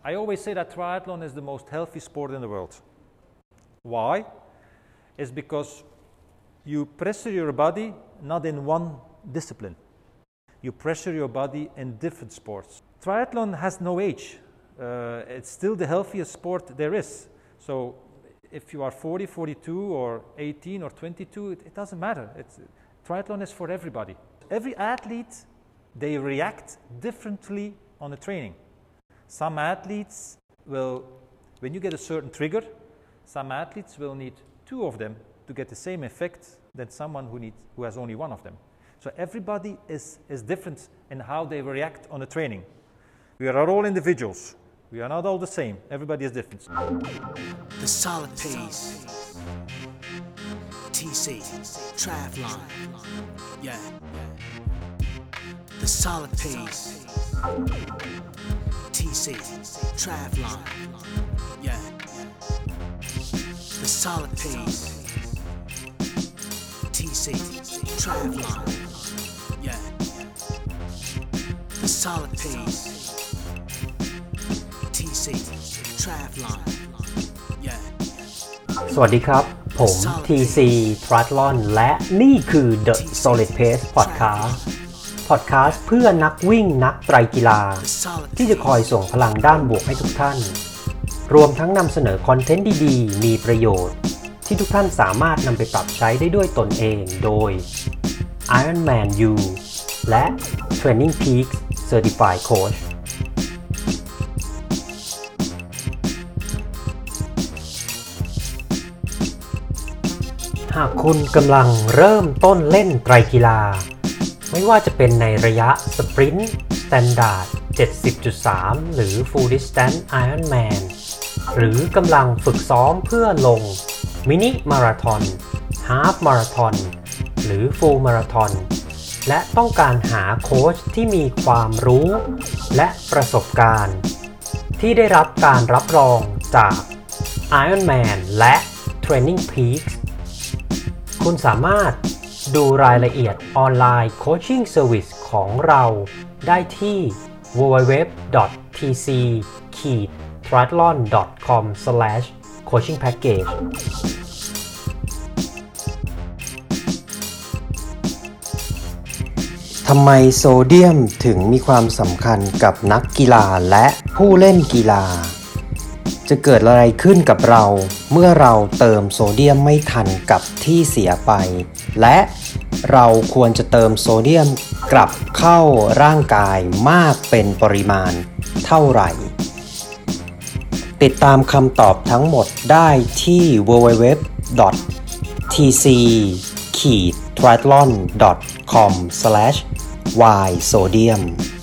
I always say that triathlon is the most healthy sport in the world. Why? It's because you pressure your body not in one discipline. You pressure your body in different sports. Triathlon has no age. It's still the healthiest sport there is. So if you are 40, 42 or 18 or 22, it doesn't matter. Triathlon is for everybody. Every athlete, they react differently on the training. Some athletes will, when you get a certain trigger, some athletes will need 2 of them to get the same effect than someone who has only 1 of them. So everybody is different in how they react on the training. We are all individuals. We are not all the same. Everybody is different. The solid pace. TC. Triathlon. Yeah. The solid pace. TC. Triathlon. Yeah. The solid pace. TC. Triathlon. Yeah. The solid pace. TC. Triathlon. Yeah. สวัสดีครับผม TC Triathlon และนี่คือ The Solid Pace Podcast เพื่อนักวิ่งนักไตรกีฬาที่จะคอยส่งพลังด้านบวกให้ทุกท่านรวมทั้งนำเสนอคอนเทนต์ดีๆมีประโยชน์ที่ทุกท่านสามารถนำไปปรับใช้ได้ด้วยตนเองโดย Ironman U และ Training Peaks Certified Coachหากคุณกำลังเริ่มต้นเล่นไตรกีฬาไม่ว่าจะเป็นในระยะสปรินต์ Standard 70.3 หรือ Full Distance Ironman หรือกำลังฝึกซ้อมเพื่อลงมินิมาราธอนฮาล์ฟมาราธอนหรือฟูลมาราธอนและต้องการหาโค้ชที่มีความรู้และประสบการณ์ที่ได้รับการรับรองจาก Ironman และ Training Peaks คุณสามารถดูรายละเอียดออนไลน์โคชชิ่งเซอร์วิสของเราได้ที่ www.tc-triathlon.com/coachingpackageทำไมโซเดียมถึงมีความสำคัญกับนักกีฬาและผู้เล่นกีฬาจะเกิดอะไรขึ้นกับเราเมื่อเราเติมโซเดียมไม่ทันกับที่เสียไปและเราควรจะเติมโซเดียมกลับเข้าร่างกายมากเป็นปริมาณเท่าไหร่ติดตามคำตอบทั้งหมดได้ที่ www.tc-triathlon.com/ysodium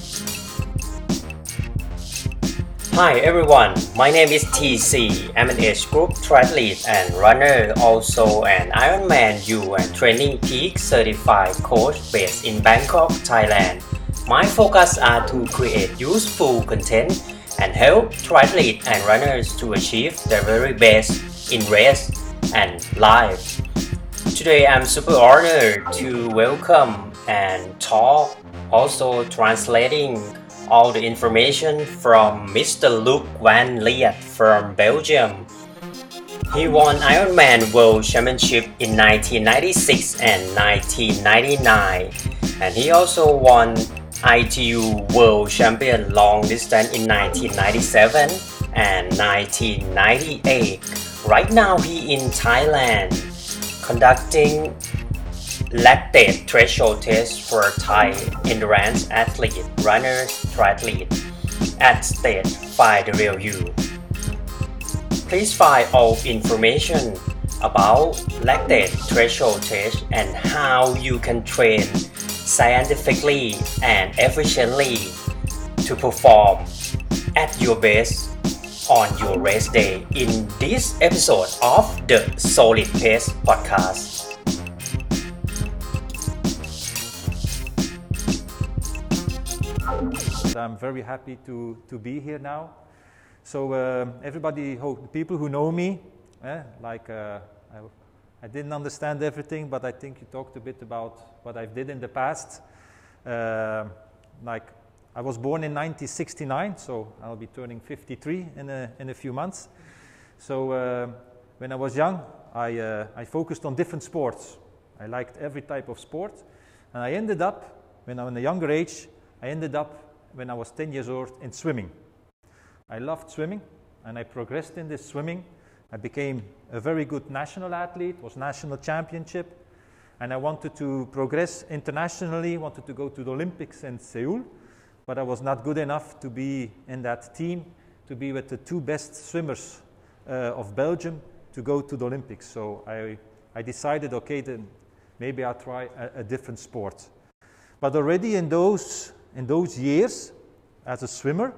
Hi everyone, my name is TC. I'm an age group triathlete and runner, also an Ironman U and Training Peak certified coach based in Bangkok, Thailand. My focus are to create useful content and help triathletes and runners to achieve their very best in race and life. Today I'm super honored to welcome and talk, also translating all the information from Mr. Luc Van Liet from Belgium. He won Ironman World Championship in 1996 and 1999, and he also won ITU World Champion Long Distance in 1997 and 1998. Right now he in Thailand conducting lactate threshold test for Thai endurance athlete, runners, triathlete at State Find the Real You. Please find all information about lactate threshold test and how you can train scientifically and efficiently to perform at your best on your race day in this episode of the Solid Pace Podcast. I'm very happy to be here now. So everybody, the people who know me, I didn't understand everything, but I think you talked a bit about what I did in the past. I was born in 1969, so I'll be turning 53 in a few months. So when I was young, I focused on different sports. I liked every type of sport. And I ended up, when I was in a younger age, when I was 10 years old, in swimming. I loved swimming, and I progressed in this swimming. I became a very good national athlete, was national championship, and I wanted to progress internationally, wanted to go to the Olympics in Seoul, but I was not good enough to be in that team, to be with the two best swimmers of Belgium to go to the Olympics. So I decided, okay, then maybe I'll try a different sport. But already in those years, as a swimmer,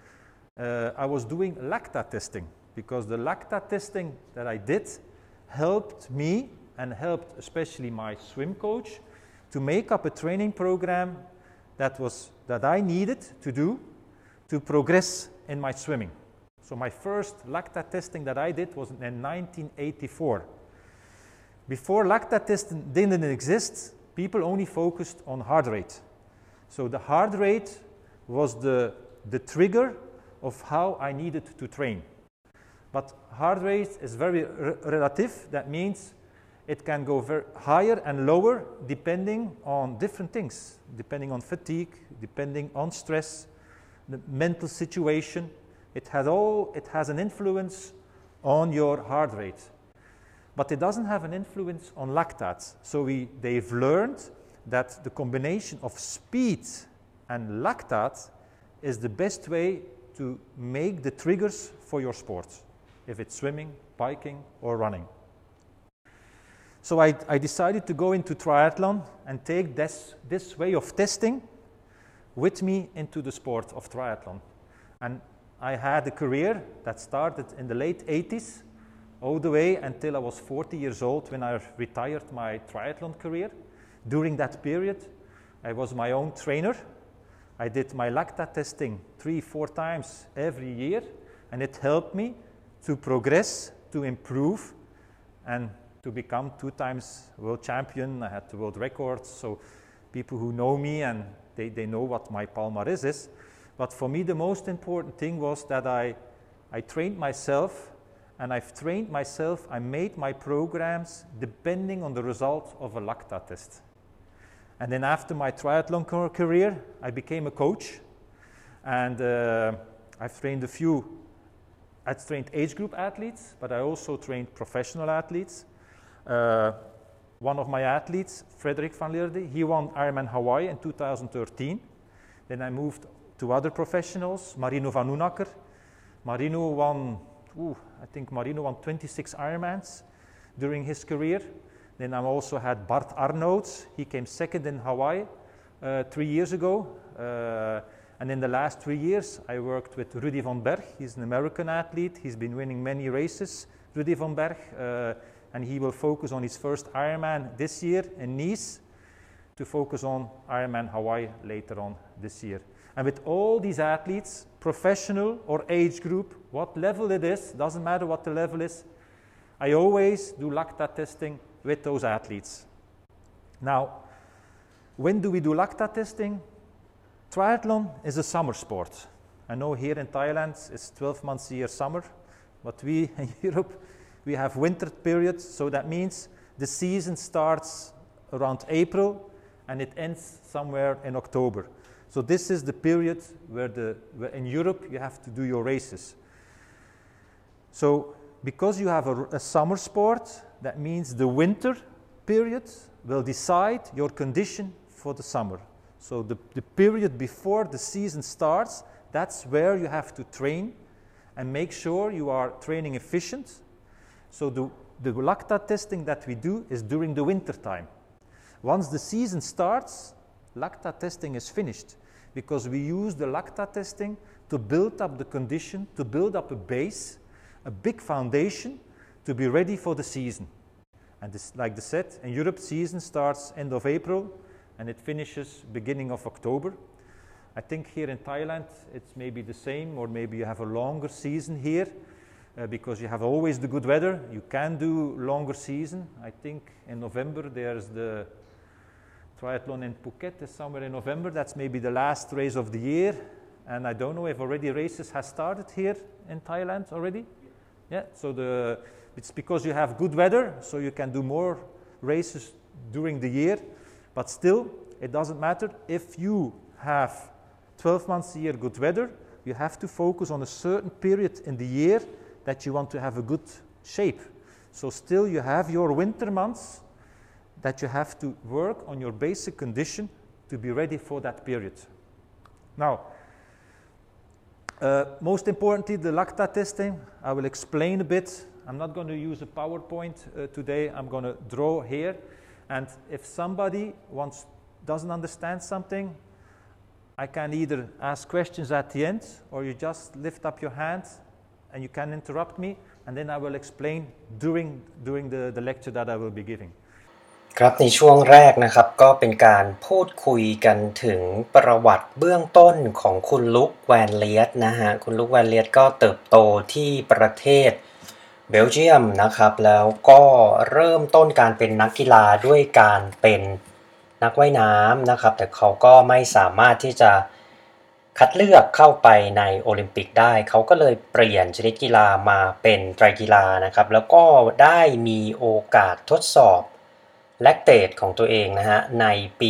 I was doing lactate testing, because the lactate testing that I did helped me and helped especially my swim coach to make up a training program that I needed to do to progress in my swimming. So my first lactate testing that I did was in 1984. Before lactate testing didn't exist, people only focused on heart rate. So the heart rate was the trigger of how I needed to train. But heart rate is very relative. That means it can go very higher and lower depending on different things, depending on fatigue, depending on stress, the mental situation. It has an influence on your heart rate. But it doesn't have an influence on lactate. So they've learned that the combination of speed and lactate is the best way to make the triggers for your sport, if it's swimming, biking, or running. So I decided to go into triathlon and take this way of testing with me into the sport of triathlon. And I had a career that started in the late 80s, all the way until I was 40 years old when I retired my triathlon career. During that period, I was my own trainer. I did my lactate testing 3-4 times every year, and it helped me to progress, to improve, and to become 2 times world champion. I had the world records, so people who know me and they know what my palmarès is. But for me, the most important thing was that I trained myself, and I've trained myself. I made my programs depending on the result of a lactate test. And then after my triathlon career, I became a coach, and I've trained I've trained age group athletes, but I also trained professional athletes. One of my athletes, Frederik van Lierde, he won Ironman Hawaii in 2013. Then I moved to other professionals, Marino van Oenacker. Marino won 26 Ironmans during his career. Then I also had Bart Arnouds. He came second in Hawaii 3 years ago. And in the last 3 years, I worked with Rudy von Berg. He's an American athlete. He's been winning many races, Rudy von Berg. And he will focus on his first Ironman this year in Nice, to focus on Ironman Hawaii later on this year. And with all these athletes, professional or age group, what level it is, doesn't matter what the level is, I always do lactate testing with those athletes. Now, when do we do lactate testing? Triathlon is a summer sport. I know here in Thailand it's 12 months a year summer, but we in Europe, we have winter periods, so that means the season starts around April and it ends somewhere in October. So this is the period where in Europe you have to do your races. So because you have a summer sport, that means the winter period will decide your condition for the summer. So the period before the season starts, that's where you have to train and make sure you are training efficient. So the lactate testing that we do is during the winter time. Once the season starts, lactate testing is finished, because we use the lactate testing to build up the condition, to build up a base, a big foundation to be ready for the season. And this, like I said, in Europe, season starts end of April and it finishes beginning of October. I think here in Thailand it's maybe the same, or maybe you have a longer season here because you have always the good weather. You can do longer season. I think in November there's the Triathlon in Phuket is somewhere in November. That's maybe the last race of the year. And I don't know if already races have started here in Thailand already. Yeah, so it's because you have good weather, so you can do more races during the year. But still, it doesn't matter. If you have 12 months a year good weather, you have to focus on a certain period in the year that you want to have a good shape. So still you have your winter months that you have to work on your basic condition to be ready for that period. Now, most importantly, the lactate testing, I will explain a bit. I'm not going to use a PowerPoint today. I'm going to draw here. And if somebody doesn't understand something, I can either ask questions at the end, or you just lift up your hand and you can interrupt me, and then I will explain during the lecture that I will be giving. ครับในช่วงแรกนะครับก็เป็นการพูดคุยกันถึงประวัติเบื้องต้นของคุณลุคแวนเลียตนะฮะคุณลุคแวนเลียตก็เติบโตที่ประเทศเบลเยียมนะครับแล้วก็เริ่มต้นการเป็นนักกีฬาด้วยการเป็นนักว่ายน้ำนะครับแต่เขาก็ไม่สามารถที่จะคัดเลือกเข้าไปในโอลิมปิกได้เขาก็เลยเปลี่ยนชนิดกีฬามาเป็นไตรกีฬานะครับแล้วก็ได้มีโอกาสทดสอบแลคเตตของตัวเองนะฮะในปี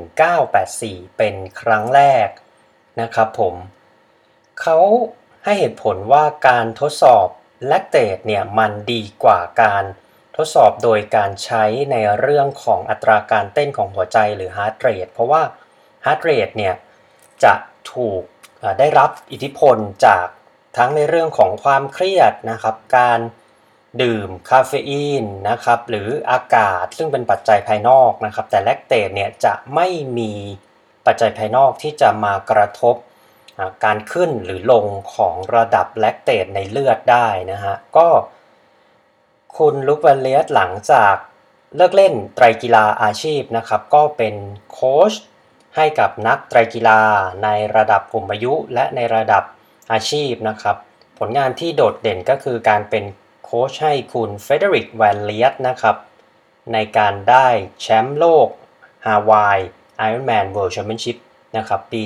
1984เป็นครั้งแรกนะครับผมเขาให้เหตุผลว่าการทดสอบแลคเตตเนี่ยมันดีกว่าการทดสอบโดยการใช้ในเรื่องของอัตราการเต้นของหัวใจหรือฮาร์ทเรทเพราะว่าฮาร์ทเรทเนี่ยจะถูกได้รับอิทธิพลจากทั้งในเรื่องของความเครียดนะครับการดื่มคาเฟอีนนะครับหรืออากาศซึ่งเป็นปัจจัยภายนอกนะครับแต่แลคเตตเนี่ยจะไม่มีปัจจัยภายนอกที่จะมากระทบการขึ้นหรือลงของระดับแลคเตตในเลือดได้นะฮะก็คุณลุคแวนเลียตหลังจากเลิกเล่นไตรกีฬาอาชีพนะครับก็เป็นโค้ชให้กับนักไตรกีฬาในระดับกลุ่มอายุและในระดับอาชีพนะครับผลงานที่โดดเด่นก็คือการเป็นโค้ชให้คุณเฟเดริกแวนเลียตนะครับในการได้แชมป์โลกฮาวายไอรอนแมนเวิลด์แชมเปี้ยนชิพนะครับปี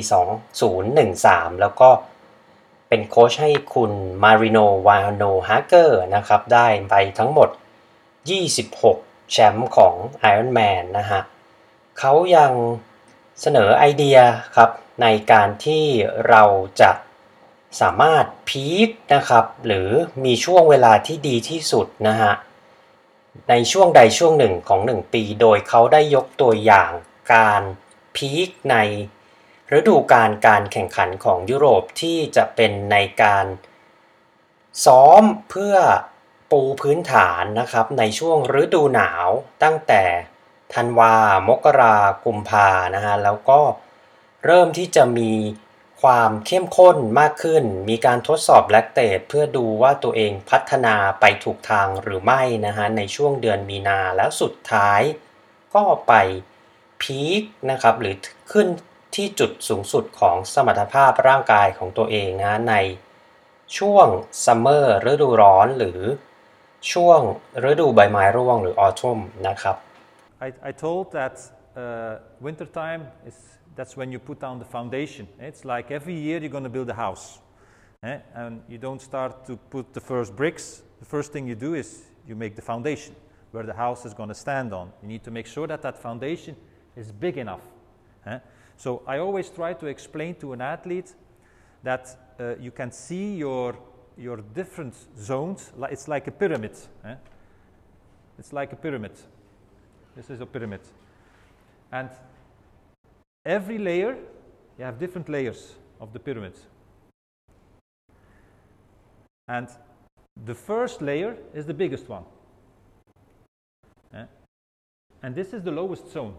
2013แล้วก็เป็นโค้ชให้คุณมาริโนวาโนฮาเกอร์นะครับได้ไปทั้งหมด26แชมป์ของ Ironman นะฮะเขายังเสนอไอเดียครับในการที่เราจะสามารถพีคนะครับหรือมีช่วงเวลาที่ดีที่สุดนะฮะในช่วงใดช่วงหนึ่งของ1ปีโดยเขาได้ยกตัวอย่างการพีคในฤดูกาลการแข่งขันของยุโรปที่จะเป็นในการซ้อมเพื่อปูพื้นฐานนะครับในช่วงฤดูหนาวตั้งแต่ธันวามกรากุมภานะฮะแล้วก็เริ่มที่จะมีความเข้มข้นมากขึ้นมีการทดสอบแลคเตตเพื่อดูว่าตัวเองพัฒนาไปถูกทางหรือไม่นะฮะในช่วงเดือนมีนาแล้วสุดท้ายก็ไปพีคนะครับหรือขึ้นที่จุดสูงสุดของสมรรถภาพร่างกายของตัวเองนะในช่วงซัมเมอร์ฤดูร้อนหรือช่วงฤดูใบไม้ร่วงหรือออทัมนะครับ I told that winter time that's when you put down the foundation. It's like every year you're going to build a house, and you don't start to put the first bricks. The first thing you do is you make the foundation where the house is going to stand on. You need to make sure that that foundation is big enough. So I always try to explain to an athlete that you can see your different zones. It's like a pyramid. It's like a pyramid. This is a pyramid. And every layer, you have different layers of the pyramid. And the first layer is the biggest one. And this is the lowest zone.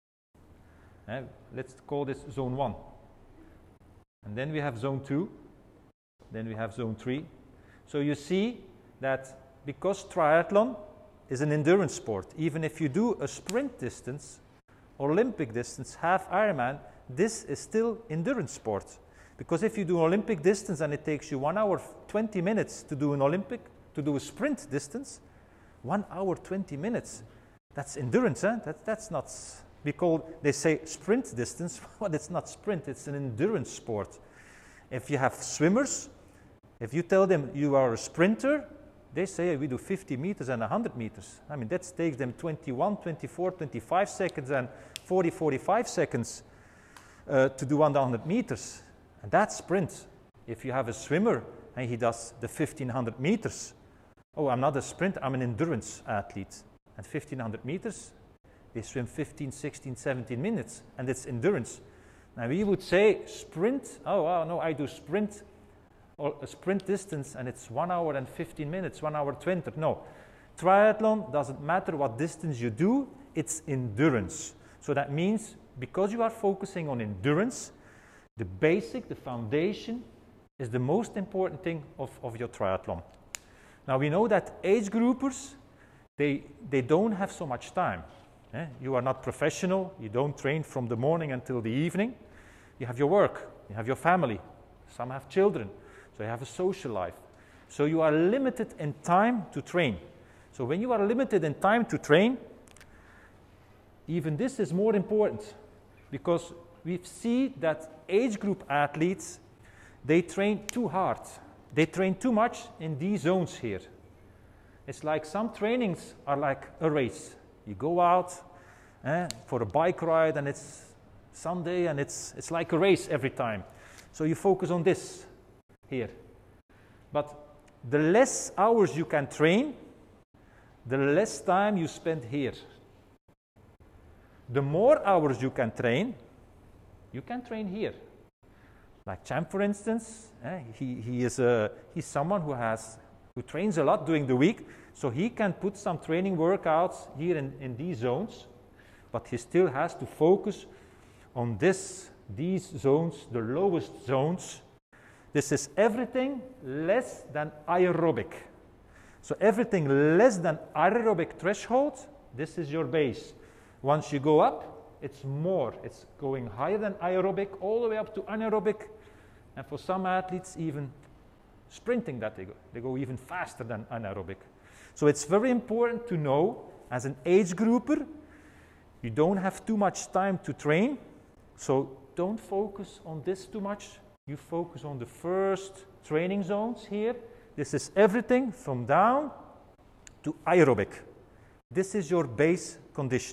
Let's call this zone 1. And then we have zone 2. Then we have zone 3. So you see that because triathlon is an endurance sport, even if you do a sprint distance, Olympic distance, half Ironman, this is still endurance sport. Because if you do Olympic distance and it takes you 1 hour 20 minutes to do to do a sprint distance, 1 hour 20 minutes, that's endurance, that's not They say sprint distance, but it's not sprint, it's an endurance sport. If you have swimmers, if you tell them you are a sprinter, they say we do 50 meters and 100 meters. I mean, that takes them 21, 24, 25 seconds and 40, 45 seconds to do 100 meters. And that's sprint. If you have a swimmer and he does the 1500 meters, oh, I'm not a sprinter, I'm an endurance athlete. And 1500 meters, they swim 15, 16, 17 minutes, and it's endurance. Now we would say sprint, oh no, I do sprint, or a sprint distance, and it's 1 hour and 15 minutes, 1 hour 20. No, triathlon doesn't matter what distance you do, it's endurance. So that means because you are focusing on endurance, the basic, the foundation, is the most important thing of your triathlon. Now we know that age groupers, they don't have so much time. You are not professional, you don't train from the morning until the evening. You have your work, you have your family, some have children, so you have a social life. So you are limited in time to train. So when you are limited in time to train, even this is more important, because we see that age group athletes, they train too hard. They train too much in these zones here. It's like some trainings are like a race. You go out for a bike ride and it's Sunday and it's like a race every time. So you focus on this here. But the less hours you can train, the less time you spend here. The more hours you can train here. Like Champ, for instance, he's someone who trains a lot during the week, so he can put some training workouts here in these zones, but he still has to focus on these zones, the lowest zones. This is everything less than aerobic. So everything less than aerobic threshold, this is your base. Once you go up, it's more. It's going higher than aerobic, all the way up to anaerobic. And for some athletes, even sprinting that they go even faster than anaerobic. So it's very important to know, as an age grouper, you don't have too much time to train. So don't focus on this too much. You focus on the first training zones here. This is everything from down to aerobic. This is your base condition.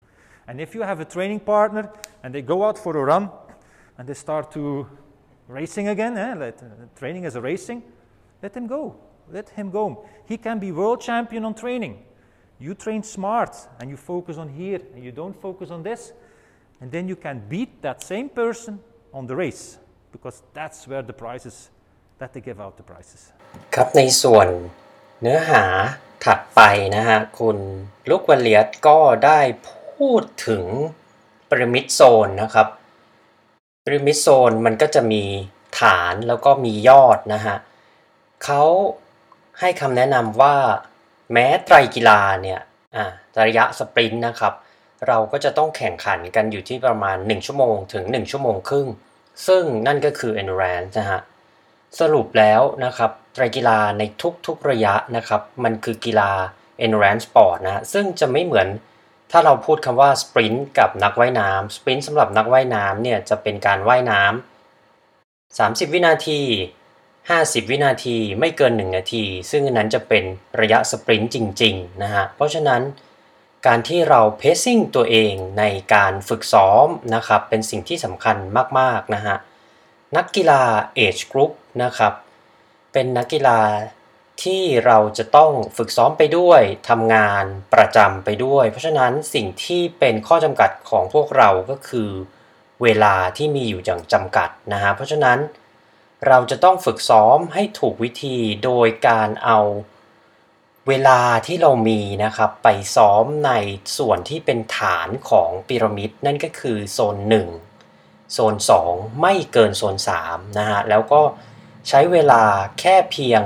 And if you have a training partner and they go out for a run and they start to racing again, training is a racing, let him go. Let him go. He can be world champion on training. You train smart and you focus on here and you don't focus on this, and then you can beat that same person on the race, because that's where the prizes, that they give out the prizes. ครับในส่วนเนื้อหาถัดไปนะฮะคุณลูกวาเลียตก็ได้พูดถึงพีระมิดโซนนะครับพีระมิดโซนมันก็จะมีฐานแล้วก็มียอดนะฮะเขาให้คำแนะนำว่าแม้ไตรกีฬาเนี่ยระยะสปรินต์นะครับเราก็จะต้องแข่งขันกันอยู่ที่ประมาณ1ชั่วโมงถึง1ชั่วโมงครึ่งซึ่งนั่นก็คือ endurance นะฮะสรุปแล้วนะครับไตรกีฬาในทุกๆระยะนะครับมันคือกีฬา endurance sport นะซึ่งจะไม่เหมือนถ้าเราพูดคำว่าสปรินต์กับนักว่ายน้ำสปรินต์สำหรับนักว่ายน้ำเนี่ยจะเป็นการว่ายน้ำ30วินาที50วินาทีไม่เกิน1นาทีซึ่งอันนั้นจะเป็นระยะสปรินต์จริงๆนะฮะเพราะฉะนั้นการที่เราเพซซิ่งตัวเองในการฝึกซ้อมนะครับเป็นสิ่งที่สำคัญมากๆนะฮะนักกีฬา Age Group นะครับเป็นนักกีฬาที่เราจะต้องฝึกซ้อมไปด้วยทำงานประจำไปด้วยเพราะฉะนั้นสิ่งที่เป็นข้อจำกัดของพวกเราก็คือเวลาที่มีอยู่อย่างจำกัดนะฮะเพราะฉะนั้นเราจะต้องฝึกซ้อมให้ถูกวิธีโดยการเอาเวลาที่เรามีนะครับไปซ้อมในส่วนที่เป็นฐานของพีระมิดนั่นก็คือโซน1โซน2ไม่เกินโซน3นะฮะแล้วก็ใช้เวลาแค่เพียง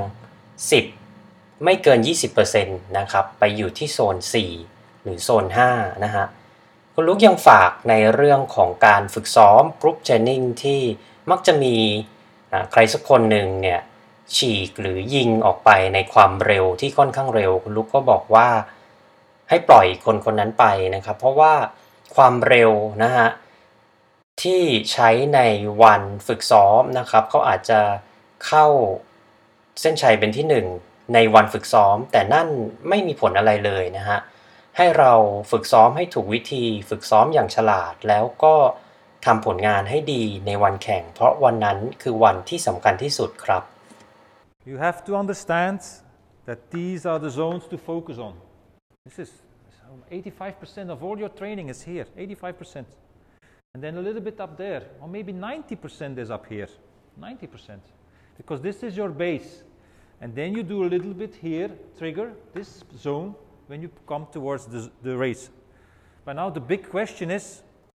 10ไม่เกิน 20% นะครับไปอยู่ที่โซน4หรือโซน5นะฮะคุณลูกยังฝากในเรื่องของการฝึกซ้อมกรุ๊ปเทรนนิ่งที่มักจะมีใครสักคนหนึ่งเนี่ยฉีกหรือยิงออกไปในความเร็วที่ค่อนข้างเร็วคุณลูกก็บอกว่าให้ปล่อยคนนั้นไปนะครับเพราะว่าความเร็วนะฮะที่ใช้ในวันฝึกซ้อมนะครับเขาอาจจะเข้าเส้นชัยเป็นที่1ในวันฝึกซ้อมแต่นั่นไม่มีผลอะไรเลยนะฮะให้เราฝึกซ้อมให้ถูกวิธีฝึกซ้อมอย่างฉลาดแล้วก็ทำผลงานให้ดีในวันแข่งเพราะวันนั้นคือวันที่สำคัญที่สุดครับ You have to understand that these are the zones to focus on. This is 85% of all your training is here, 85%. And then a little bit up there, or maybe 90% is up here, 90%. Because this is your base. And then you do a little bit here, trigger this zone when you come towards the race. But now the big question is,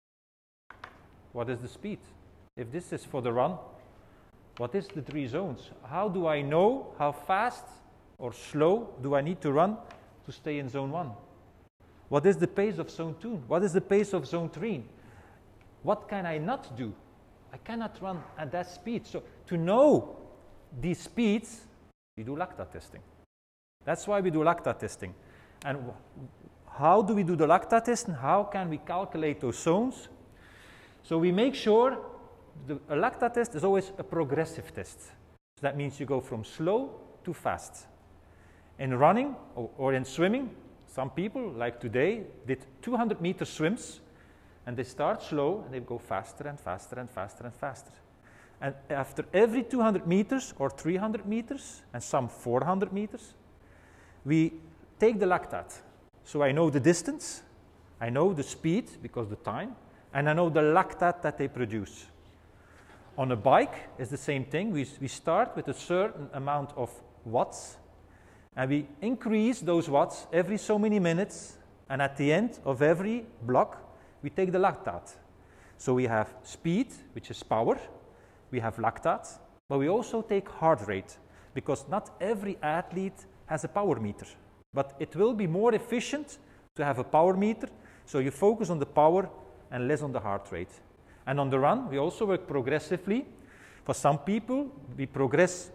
what is the speed? If this is for the run, what is the 3 zones? How do I know how fast or slow do I need to run to stay in zone 1? What is the pace of zone 2? What is the pace of zone 3? What can I not do? I cannot run at that speed. So to know these speeds, we do lactate testing. That's why we do lactate testing. And how do we do the lactate testing? How can we calculate those zones? So we make sure a lactate test is always a progressive test. So that means you go from slow to fast. In running or in swimming, some people, like today, did 200-meter swims, and they start slow, and they go faster and faster and faster and faster. And after every 200 meters or 300 meters, and some 400 meters, we take the lactate. So I know the distance, I know the speed, because the time, and I know the lactate that they produce. On a bike, it's the same thing. We start with a certain amount of watts, and we increase those watts every so many minutes, and at the end of every block, we take the lactate. So we have speed, which is power, we have lactate, but we also take heart rate, because not every athlete has a power meter. But it will be more efficient to have a power meter, so you focus on the power and less on the heart rate. And on the run, we also work progressively. For some people, we progress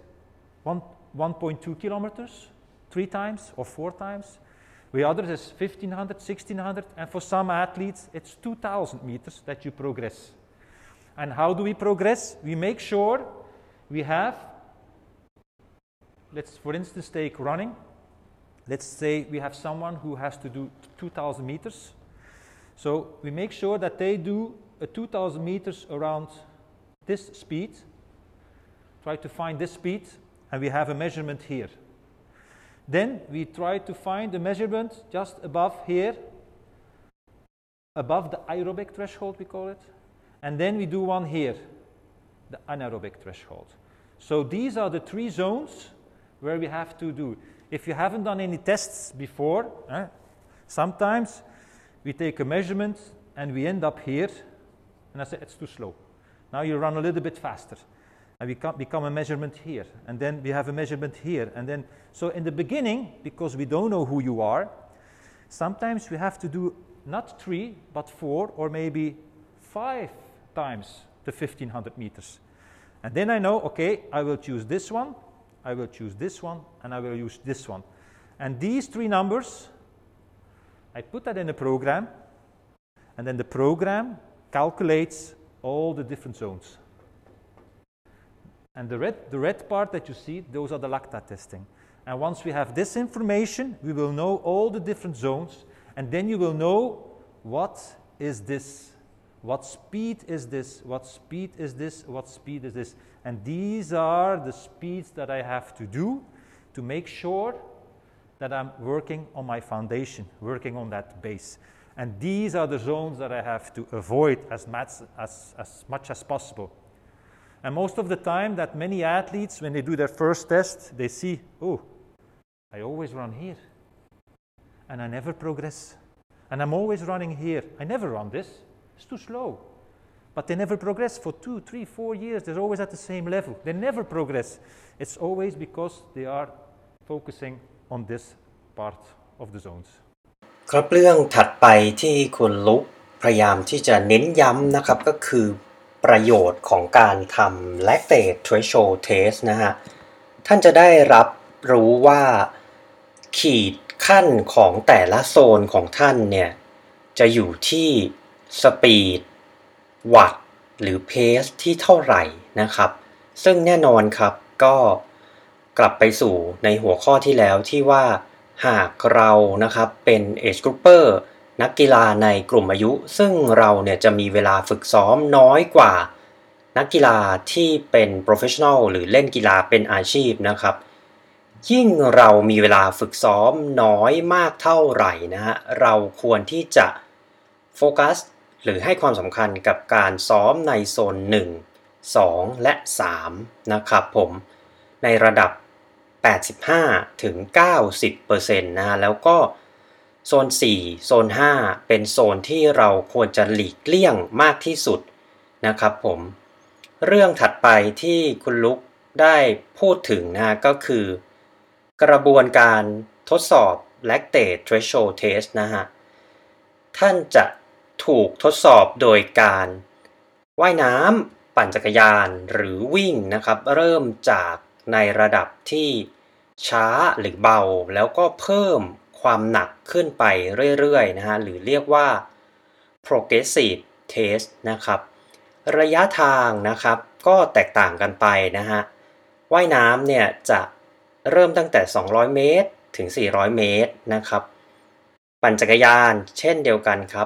1.2 kilometers, 3 times or 4 times. With others, it's 1,500, 1,600, and for some athletes, it's 2,000 meters that you progress. And how do we progress? We make sure we have, let's for instance take running. Let's say we have someone who has to do 2,000 meters. So we make sure that they do a 2,000 meters around this speed. Try to find this speed, and we have a measurement here. Then we try to find a measurement just above here, above the aerobic threshold, we call it. And then we do one here, the anaerobic threshold. So these are the 3 zones where we have to do. If you haven't done any tests before, sometimes we take a measurement and we end up here, and I say it's too slow. Now you run a little bit faster, and we become a measurement here, and then we have a measurement here, and then so in the beginning, because we don't know who you are, sometimes we have to do not 3 but 4 or maybe 5 times the 1,500 meters. And then I know, okay, I will choose this one, I will choose this one, and I will use this one. And these 3 numbers, I put that in a program, and then the program calculates all the different zones. And the red part that you see, those are the lactate testing. And once we have this information, we will know all the different zones, and then you will know what is this, what speed is this, what speed is this, what speed is this. And these are the speeds that I have to do to make sure that I'm working on my foundation, working on that base. And these are the zones that I have to avoid as much as possible. And most of the time that many athletes, when they do their first test, they see, oh, I always run here, and I never progress. And I'm always running here. I never run this. It's too slow. But they never progress for 2, 3, 4 years. They're always at the same level. They never progress. It's always because they are focusing on this part of the zones. ครับเรื่องถัดไปที่คุณลุกพยายามที่จะเน้นย้ำนะครับก็คือประโยชน์ของการทำ lactate threshold test นะฮะท่านจะได้รับรู้ว่าขีดขั้นของแต่ละโซนของท่านเนี่ยจะอยู่ที่สปีดวัตต์หรือเพสที่เท่าไหร่นะครับซึ่งแน่นอนครับก็กลับไปสู่ในหัวข้อที่แล้วที่ว่าหากเรานะครับเป็น Age Grouper นักกีฬาในกลุ่มอายุซึ่งเราเนี่ยจะมีเวลาฝึกซ้อมน้อยกว่านักกีฬาที่เป็น Professional หรือเล่นกีฬาเป็นอาชีพนะครับยิ่งเรามีเวลาฝึกซ้อมน้อยมากเท่าไหร่นะฮะเราควรที่จะโฟกัสหรือให้ความสำคัญกับการซ้อมในโซน1 2 และ 3นะครับผมในระดับ 85-90% นะฮะแล้วก็โซน4โซน5เป็นโซนที่เราควรจะหลีกเลี่ยงมากที่สุดนะครับผมเรื่องถัดไปที่คุณลุกได้พูดถึงนะก็คือกระบวนการทดสอบ lactate threshold test นะฮะท่านจะถูกทดสอบโดยการว่ายน้ำปั่นจักรยานหรือวิ่งนะครับเริ่มจากในระดับที่ช้าหรือเบาแล้วก็เพิ่มความหนักขึ้นไปเรื่อยๆนะฮะหรือเรียกว่า progressive test นะครับระยะทางนะครับก็แตกต่างกันไปนะฮะว่ายน้ำเนี่ยจะเริ่มตั้งแต่200เมตรถึง400เมตรนะครับปั่นจักรยานเช่นเดียวกันครับ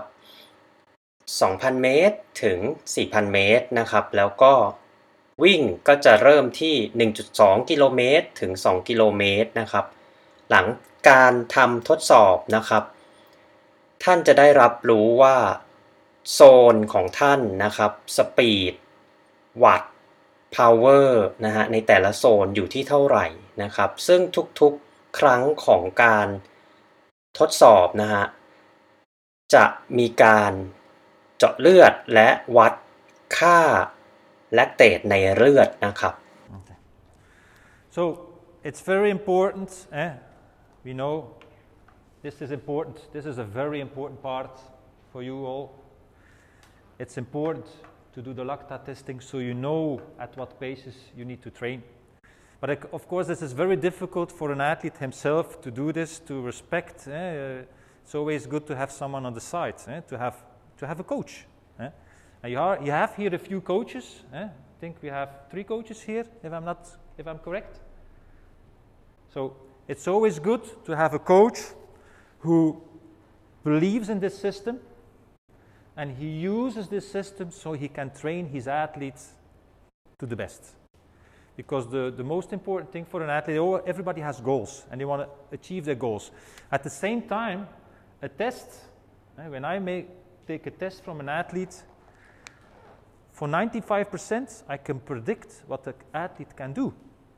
2,000 เมตรถึง 4,000 เมตรนะครับแล้วก็วิ่งก็จะเริ่มที่ 1.2 กิโลเมตรถึง 2 กิโลเมตรนะครับหลังการทำทดสอบนะครับท่านจะได้รับรู้ว่าโซนของท่านนะครับสปีดวัตต์พาวเวอร์นะฮะในแต่ละโซนอยู่ที่เท่าไหร่นะครับซึ่งทุกๆครั้งของการทดสอบนะฮะจะมีการเจาะเลือดและวัดค่าแลคเตตในเลือดนะครับ Okay. So it's very important. We know this is important. This is a very important part for you all. It's important to do the lactate testing so you know at what paces you need to train. But of course, this is very difficult for an athlete himself to do this, to respect. It's always good to have someone on the side, to have a coach. You have here a few coaches. I think we have 3 coaches here, if I'm correct. So it's always good to have a coach who believes in this system, and he uses this system so he can train his athletes to the best. Because the most important thing for an athlete, everybody has goals, and they want to achieve their goals. At the same time, a test, when I take a test from an athlete, for 95%, I can predict what the athlete can do.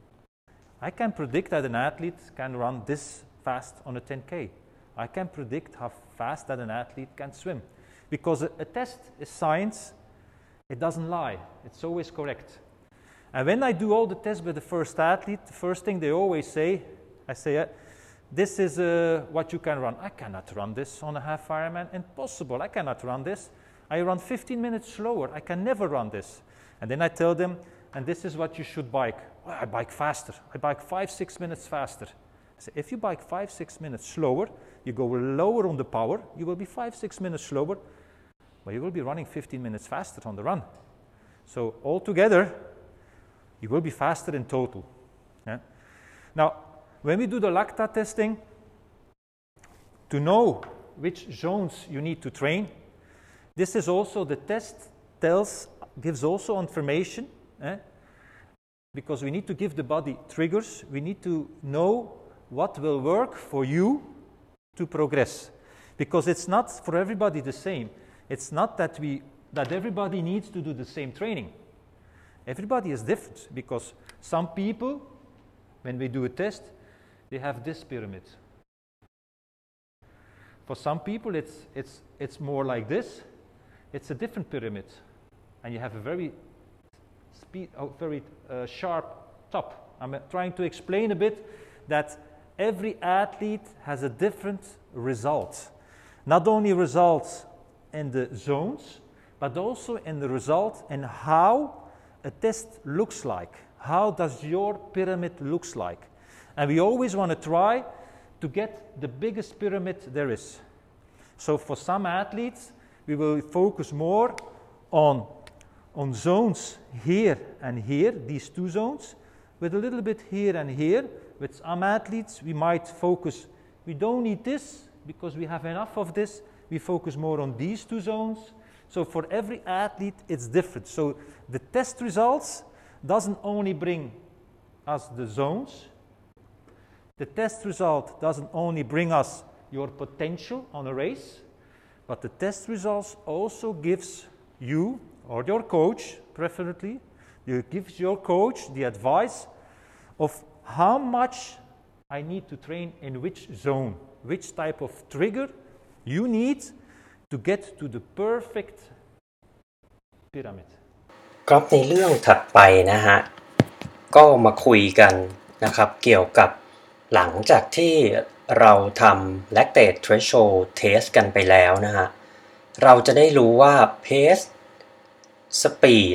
I can predict that an athlete can run this fast on a 10K. I can predict how fast that an athlete can swim. Because a test is science, it doesn't lie. It's always correct. And when I do all the tests with the first athlete, the first thing they always say, I say, this is what you can run. I cannot run this on a half Ironman. Impossible. I cannot run this. I run 15 minutes slower. I can never run this. And then I tell them, and this is what you should bike. Well, I bike faster. I bike 5-6 minutes faster. I say, if you bike 5-6 minutes slower, you go lower on the power. You will be 5-6 minutes slower, but you will be running 15 minutes faster on the run. So altogether, you will be faster in total. Yeah? Now, when we do the lactate testing, to know which zones you need to train, this is also the test gives also information, because we need to give the body triggers. We need to know what will work for you to progress, because it's not for everybody the same. It's not that everybody needs to do the same training. Everybody is different, because some people, when we do a test, they have this pyramid. For some people, it's more like this. It's a different pyramid, and you have a very sharp top. I'm trying to explain a bit that every athlete has a different result. Not only results in the zones, but also in the result in how a test looks like. How does your pyramid looks like? And we always want to try to get the biggest pyramid there is. So for some athletes, we will focus more on zones here and here, these two zones, with a little bit here and here. With some athletes, we might focus, we don't need this because we have enough of this. We focus more on these two zones. So for every athlete, it's different. So the test results doesn't only bring us the zones. The test result doesn't only bring us your potential on a race, but the test results also gives you or your coach, preferably, it gives your coach the advice of how much I need to train in which zone, which type of trigger you need to get to the perfect pyramid. ครับในเรื่องถัดไปนะฮะก็มาคุยกันนะครับเกี่ยวกับหลังจากที่เราทำ lactate threshold test กันไปแล้วนะฮะเราจะได้รู้ว่า pace speed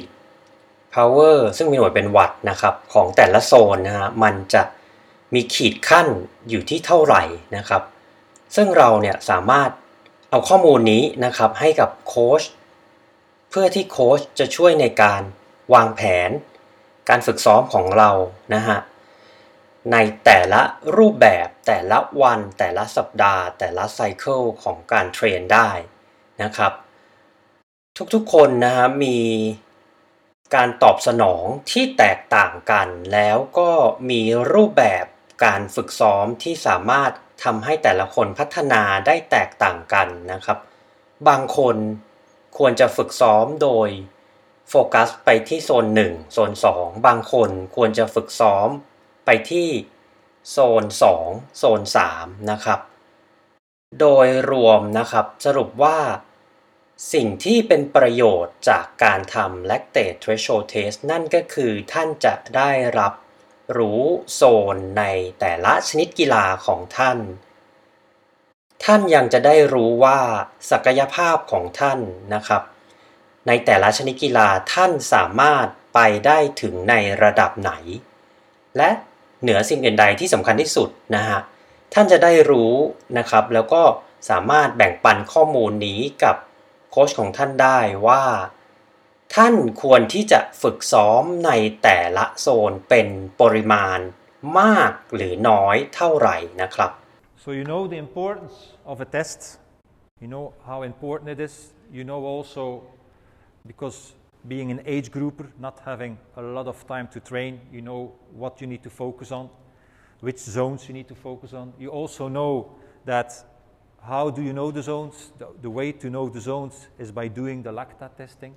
power ซึ่งมีหน่วยเป็นวัตต์นะครับของแต่ละโซนนะฮะมันจะมีขีดขั้นอยู่ที่เท่าไหร่นะครับซึ่งเราเนี่ยสามารถเอาข้อมูลนี้นะครับให้กับโค้ชเพื่อที่โค้ชจะช่วยในการวางแผนการฝึกซ้อมของเรานะฮะในแต่ละรูปแบบแต่ละวันแต่ละสัปดาห์แต่ละไซเคิลของการเทรนได้นะครับทุกๆคนนะฮะมีการตอบสนองที่แตกต่างกันแล้วก็มีรูปแบบการฝึกซ้อมที่สามารถทำให้แต่ละคนพัฒนาได้แตกต่างกันนะครับบางคนควรจะฝึกซ้อมโดยโฟกัสไปที่โซน1โซน2บางคนควรจะฝึกซ้อมไปที่โซน2โซน3นะครับโดยรวมนะครับสรุปว่าสิ่งที่เป็นประโยชน์จากการทำ lactate threshold test นั่นก็คือท่านจะได้รับรู้โซนในแต่ละชนิดกีฬาของท่านยังจะได้รู้ว่าศักยภาพของท่านนะครับในแต่ละชนิดกีฬาท่านสามารถไปได้ถึงในระดับไหนและเหนือสิ่งอื่นใดที่สำคัญที่สุดนะฮะท่านจะได้รู้นะครับแล้วก็สามารถแบ่งปันข้อมูลนี้กับโค้ชของท่านได้ว่าท่านควรที่จะฝึกซ้อมในแต่ละโซนเป็นปริมาณมากหรือน้อยเท่าไหร่นะครับ So you know the importance of a test. You know how important it is. You know also because being an age grouper, not having a lot of time to train, you know what you need to focus on, which zones you need to focus on. You also know that how do you know the zones? The way to know the zones is by doing the lactate testing.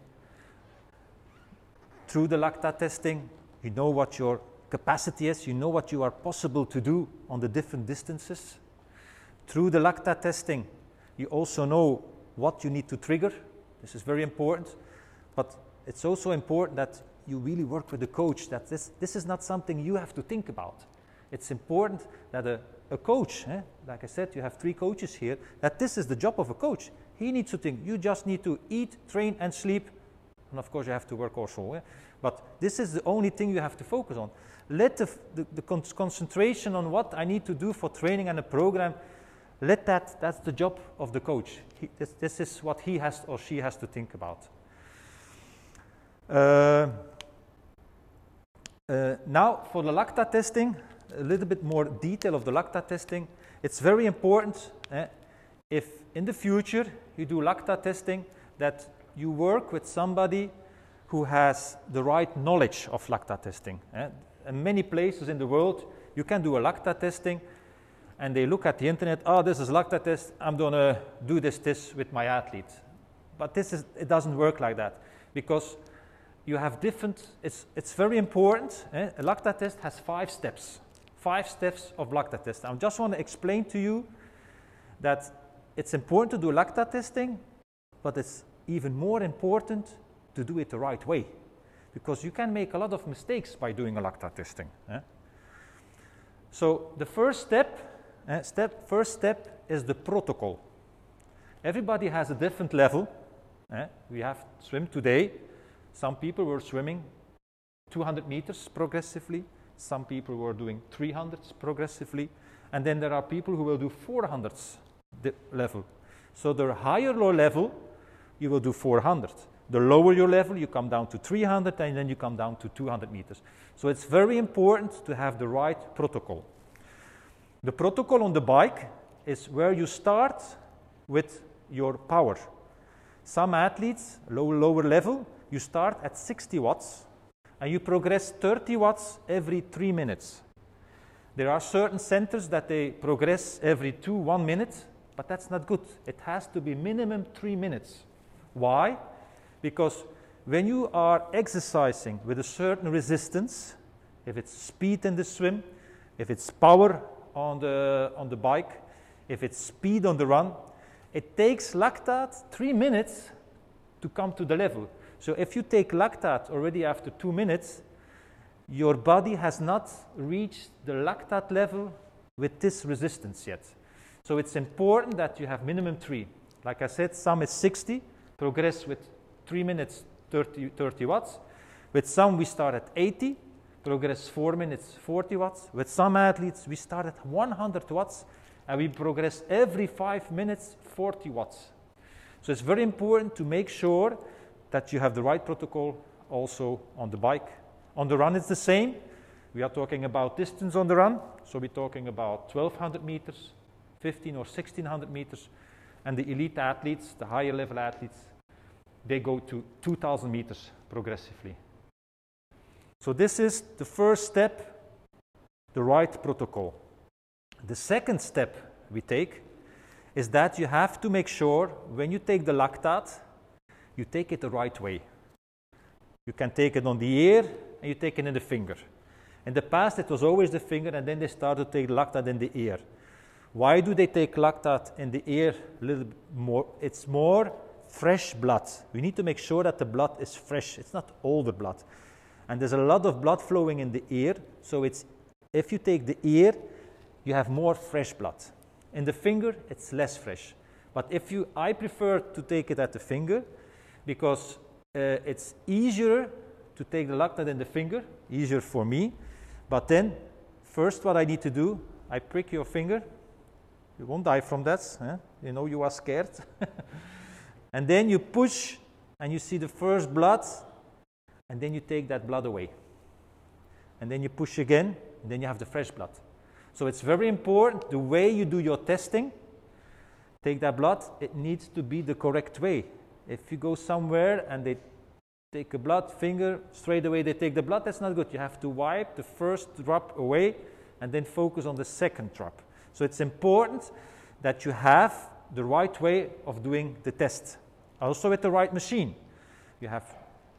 Through the lactate testing, you know what your capacity is, you know what you are possible to do on the different distances. Through the lactate testing, you also know what you need to trigger. This is very important. But it's also important that you really work with the coach, that this is not something you have to think about. It's important that a coach, like I said, you have 3 coaches here, that this is the job of a coach. He needs to think. You just need to eat, train, and sleep. And of course, you have to work also. But this is the only thing you have to focus on. Let the concentration on what I need to do for training and a program, that's the job of the coach. This is what he has or she has to think about. Now for the lactate testing, a little bit more detail of the lactate testing. It's very important if in the future you do lactate testing that you work with somebody who has the right knowledge of lactate testing. In many places in the world you can do a lactate testing and they look at the internet, this is lactate test, I'm going to do this with my athlete. But it doesn't work like that because you have different, it's very important. A lactate test has 5 steps. 5 steps of lactate test. I just want to explain to you that it's important to do lactate testing, but it's even more important to do it the right way because you can make a lot of mistakes by doing a lactate testing. So the first step is the protocol. Everybody has a different level. We have swim today. Some people were swimming 200 meters progressively. Some people were doing 300s progressively. And then there are people who will do 400s level. So the higher low level you will do 400. The lower your level, you come down to 300, and then you come down to 200 meters. So it's very important to have the right protocol. The protocol on the bike is where you start with your power. Some athletes, lower level, you start at 60 watts, and you progress 30 watts every 3 minutes. There are certain centers that they progress every 1 minute, but that's not good. It has to be minimum 3 minutes. Why? Because when you are exercising with a certain resistance, if it's speed in the swim, if it's power on the bike, if it's speed on the run, it takes lactate 3 minutes to come to the level. So if you take lactate already after 2 minutes, your body has not reached the lactate level with this resistance yet. So it's important that you have minimum 3. Like I said, some is 60, progress with 3 minutes, 30 watts. With some, we start at 80, progress 4 minutes, 40 watts. With some athletes, we start at 100 watts, and we progress every 5 minutes, 40 watts. So it's very important to make sure that you have the right protocol also on the bike. On the run, it's the same. We are talking about distance on the run, so we're talking about 1,200 meters, 1,500 or 1,600 meters, and the elite athletes, the higher level athletes, they go to 2,000 meters progressively. So this is the first step, the right protocol. The second step we take is that you have to make sure when you take the lactate, you take it the right way. You can take it on the ear and you take it in the finger. In the past, it was always the finger, and then they started to take lactate in the ear. Why do they take lactate in the ear a little bit more? It's more fresh blood. We need to make sure that the blood is fresh. It's not older blood. And there's a lot of blood flowing in the ear, so if you take the ear, you have more fresh blood. In the finger, it's less fresh. But I prefer to take it at the finger because it's easier to take the lactate in the finger, easier for me. But then, first what I need to do, I prick your finger. You won't die from that. You know you are scared. And then you push, and you see the first blood, and then you take that blood away. And then you push again, and then you have the fresh blood. So it's very important, the way you do your testing, take that blood, it needs to be the correct way. If you go somewhere and they take a blood finger, straight away they take the blood, that's not good. You have to wipe the first drop away and then focus on the second drop. So it's important that you have the right way of doing the test. Also with the right machine. You have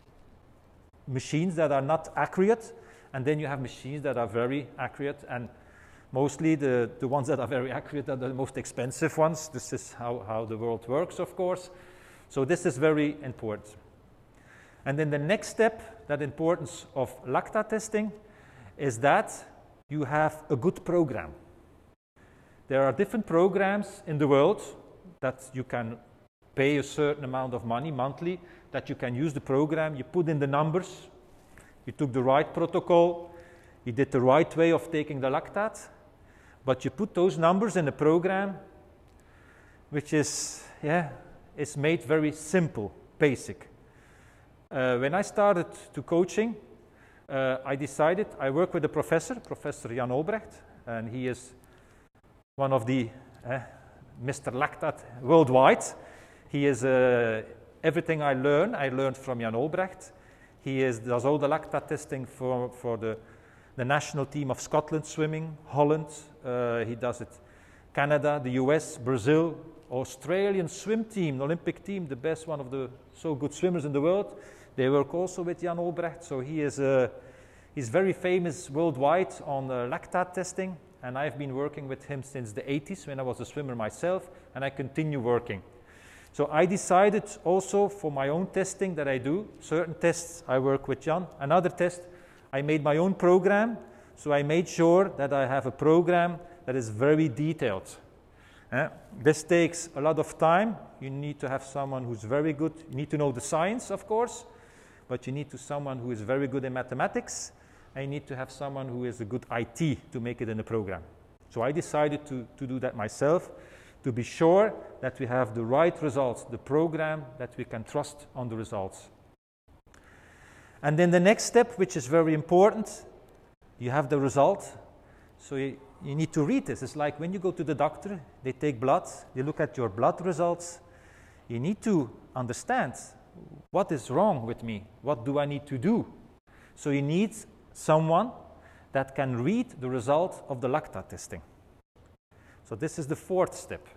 machines that are not accurate, and then you have machines that are very accurate, and mostly the ones that are very accurate are the most expensive ones. This is how the world works, of course. So this is very important. And then the next step, that importance of lactate testing, is that you have a good program. There are different programs in the world that you can pay a certain amount of money monthly, that you can use the program, you put in the numbers, you took the right protocol, you did the right way of taking the lactate, but you put those numbers in a program which is made very simple, basic. When I started to coaching, I decided, I work with a professor, Professor Jan Olbrecht, and he is one of the Mr. Lactate worldwide. He is everything I learned from Jan Olbrecht. He does all the lactate testing for the national team of Scotland swimming, Holland. He does it Canada, the US, Brazil, Australian swim team, Olympic team, the best one of the so good swimmers in the world. They work also with Jan Olbrecht, so he's very famous worldwide on lactate testing, and I've been working with him since the 80s when I was a swimmer myself, and I continue working. So I decided also for my own testing that I do, certain tests I work with Jan, another test I made my own program, so I made sure that I have a program that is very detailed. This takes a lot of time. You need to have someone who's very good. You need to know the science, of course, but you need to someone who is very good in mathematics, and you need to have someone who is a good IT to make it in the program. So I decided to do that myself. to be sure that we have the right results, the program that we can trust on the results. And then the next step, which is very important, you have the result. So you need to read this. It's like when you go to the doctor, they take blood, they look at your blood results. You need to understand what is wrong with me, what do I need to do. So you need someone that can read the result of the Lacta testing. So this is the fourth step.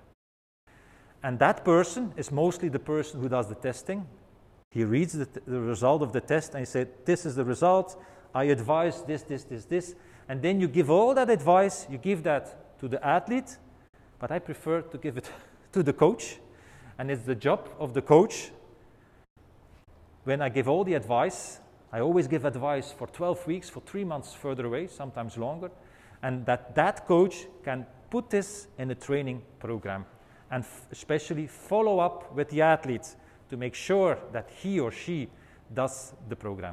And that person is mostly the person who does the testing. He reads the result of the test and he said, this is the result, I advise this. And then you give all that advice, you give that to the athlete, but I prefer to give it to the coach. And it's the job of the coach. When I give all the advice, I always give advice for 12 weeks, for 3 months further away, sometimes longer, and that coach can put this in a training program and especially follow up with the athletes to make sure that he or she does the program.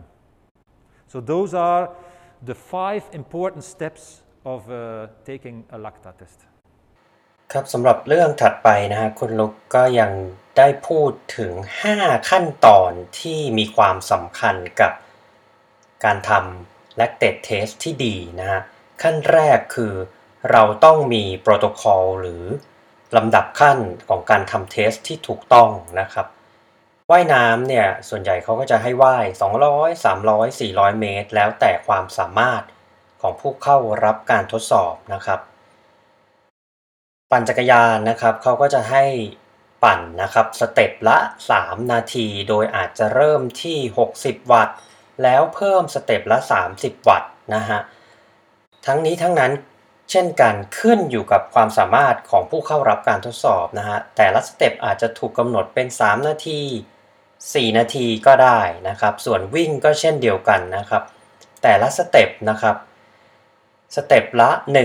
So those are the 5 important steps of taking a Lacta test. ครับสำหรับเรื่องถัดไปนะฮะคุณลุกก็ยังได้พูดถึง5ขั้นตอนที่มีความสำคัญกับการทำ lactate test ที่ดีนะฮะขั้นแรกคือเราต้องมีโปรโตคอลหรือลำดับขั้นของการทำเทสที่ถูกต้องนะครับว่ายน้ำเนี่ยส่วนใหญ่เขาก็จะให้ว่าย200 300 400 เมตรแล้วแต่ความสามารถของผู้เข้ารับการทดสอบนะครับปั่นจักรยานนะครับเขาก็จะให้ปั่นนะครับสเต็ปละ3นาทีโดยอาจจะเริ่มที่60วัตต์แล้วเพิ่มสเต็ปละ30วัตต์นะฮะทั้งนี้ทั้งนั้นเช่นกันขึ้นอยู่กับความสามารถของผู้เข้ารับการทดสอบนะฮะแต่ละสเต็ปอาจจะถูกกำหนดเป็น3นาที4นาทีก็ได้นะครับส่วนวิ่งก็เช่นเดียวกันนะครับแต่ละสเต็ปนะครับสเต็ปละ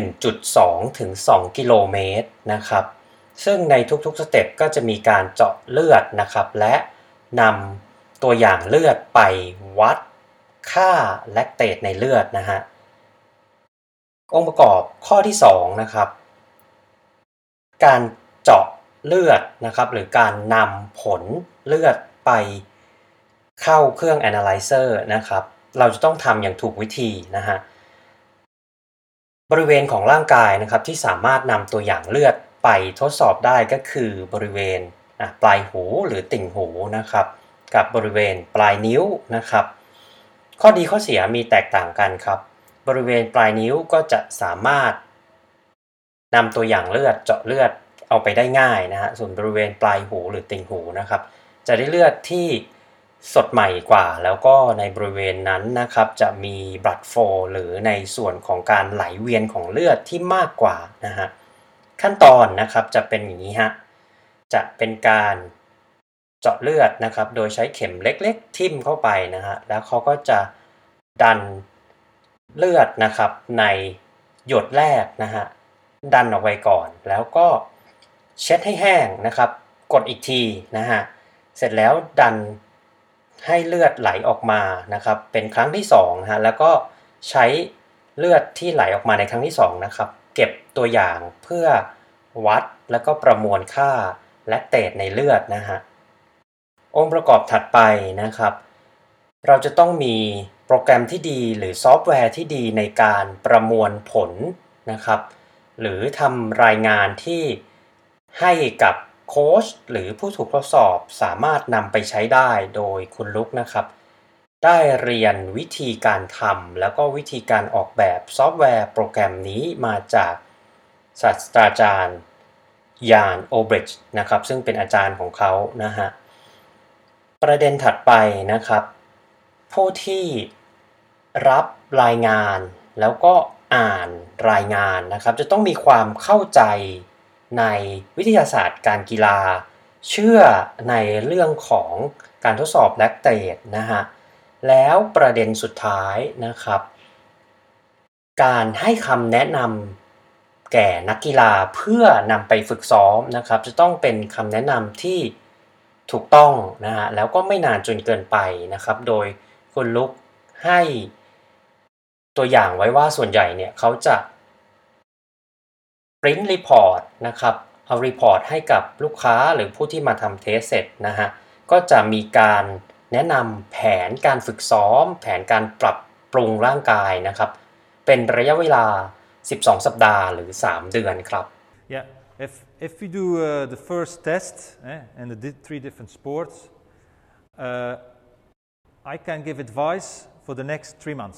1.2 ถึง 2 กิโลเมตรนะครับซึ่งในทุกๆสเต็ปก็จะมีการเจาะเลือดนะครับและนำตัวอย่างเลือดไปวัดค่าแลคเตตในเลือดนะฮะองค์ประกอบข้อที่2นะครับการเจาะเลือดนะครับหรือการนำผลเลือดไปเข้าเครื่อง Analyzer นะครับเราจะต้องทำอย่างถูกวิธีนะฮะบริเวณของร่างกายนะครับที่สามารถนำตัวอย่างเลือดไปทดสอบได้ก็คือบริเวณปลายหูหรือติ่งหูนะครับกับบริเวณปลายนิ้วนะครับข้อดีข้อเสียมีแตกต่างกันครับบริเวณปลายนิ้วก็จะสามารถนำตัวอย่างเลือดเจาะเลือดเอาไปได้ง่ายนะฮะส่วนบริเวณปลายหูหรือติ่งหูนะครับจะได้เลือดที่สดใหม่กว่าแล้วก็ในบริเวณนั้นนะครับจะมี blood flow หรือในส่วนของการไหลเวียนของเลือดที่มากกว่านะฮะขั้นตอนนะครับจะเป็นอย่างนี้ฮะจะเป็นการเจาะเลือดนะครับโดยใช้เข็มเล็กๆทิ่มเข้าไปนะฮะแล้วเขาก็จะดันเลือดนะครับในหยดแรกนะฮะดันออกไปก่อนแล้วก็เช็ดให้แห้งนะครับกดอีกทีนะฮะเสร็จแล้วดันให้เลือดไหลออกมานะครับเป็นครั้งที่2นะฮะแล้วก็ใช้เลือดที่ไหลออกมาในครั้งที่2นะครับเก็บตัวอย่างเพื่อวัดแล้วก็ประมวลค่าแลคเตตในเลือดนะฮะองค์ประกอบถัดไปนะครับเราจะต้องมีโปรแกรมที่ดีหรือซอฟต์แวร์ที่ดีในการประมวลผลนะครับหรือทำรายงานที่ให้กับโค้ชหรือผู้ถูกทดสอบสามารถนำไปใช้ได้โดยคุณลุกนะครับได้เรียนวิธีการทำแล้วก็วิธีการออกแบบซอฟต์แวร์โปรแกรมนี้มาจากศาสตราจารย์ยานโอบริดจ์นะครับซึ่งเป็นอาจารย์ของเขานะฮะประเด็นถัดไปนะครับผู้ที่รับรายงานแล้วก็อ่านรายงานนะครับจะต้องมีความเข้าใจในวิทยาศาสตร์การกีฬาเชื่อในเรื่องของการทดสอบแลคเตตนะฮะแล้วประเด็นสุดท้ายนะครับการให้คำแนะนำแก่นักกีฬาเพื่อนำไปฝึกซ้อมนะครับจะต้องเป็นคำแนะนำที่ถูกต้องนะฮะแล้วก็ไม่นานจนเกินไปนะครับโดยคุณลุกให้ตัวอย่างไว้ว่าส่วนใหญ่เนี่ยเขาจะprint report นะครับเอารีพอร์ตให้กับลูกค้าหรือผู้ที่มาทำเทสเสร็จนะฮะก็จะมีการแนะนำแผนการฝึกซ้อมแผนการปรับปรุงร่างกายนะครับเป็นระยะเวลา12 สัปดาห์หรือ3 เดือนครับ Yeah, if we do the first test and the 3 different sports, I can give advice for the next 3 months.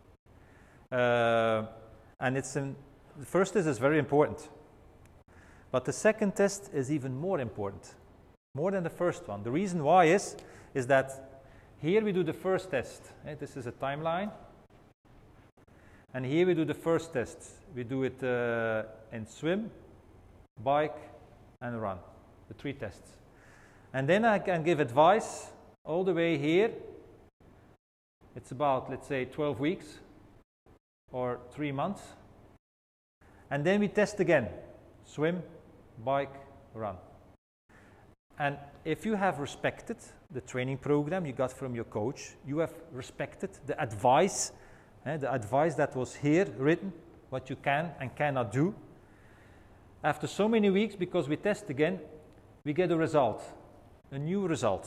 And the first test is very important. But the second test is even more important, more than the first one. The reason why is that here we do the first test. This is a timeline. And here we do the first test. We do it in swim, bike, and run, the 3 tests. And then I can give advice all the way here. It's about, let's say, 12 weeks or 3 months. And then we test again, swim, bike, run. And if you have respected the training program you got from your coach, you have respected the advice that was here written, what you can and cannot do. After so many weeks, because we test again, we get a result, a new result.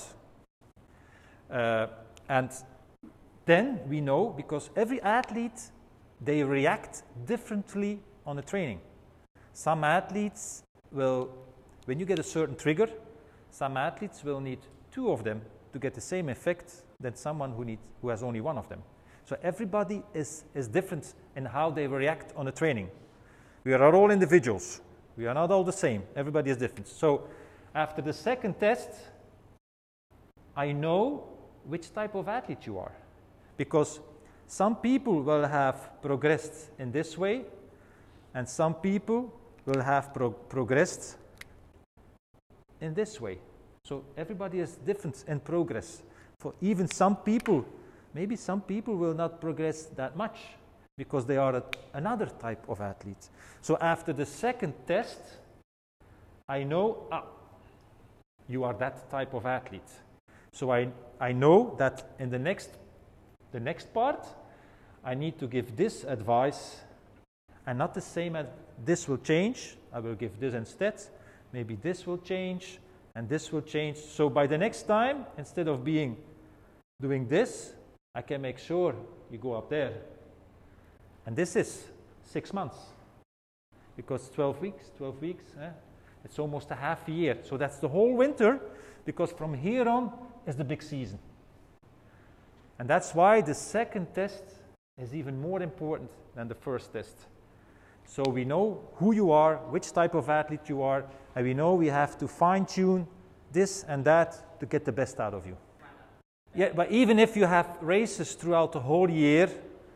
And then we know, because every athlete, they react differently on the training. Some athletes will, when you get a certain trigger, some athletes will need 2 of them to get the same effect than someone who has only 1 of them. So everybody is different in how they react on the training. We are all individuals. We are not all the same. Everybody is different. So after the second test, I know which type of athlete you are. Because some people will have progressed in this way, and some people will have progressed in this way. So everybody is different in progress. For even some people, maybe some people will not progress that much because they are another type of athlete. So after the second test, I know, you are that type of athlete. So I know that in the next part, I need to give this advice, and not the same as this will change. I will give this instead. Maybe this will change, and this will change. So by the next time, instead of doing this, I can make sure you go up there. And this is 6 months. Because 12 weeks, it's almost a half a year. So that's the whole winter, because from here on is the big season. And that's why the second test is even more important than the first test. So we know who you are, which type of athlete you are, and we know we have to fine-tune this and that to get the best out of you. Yeah, but even if you have races throughout the whole year,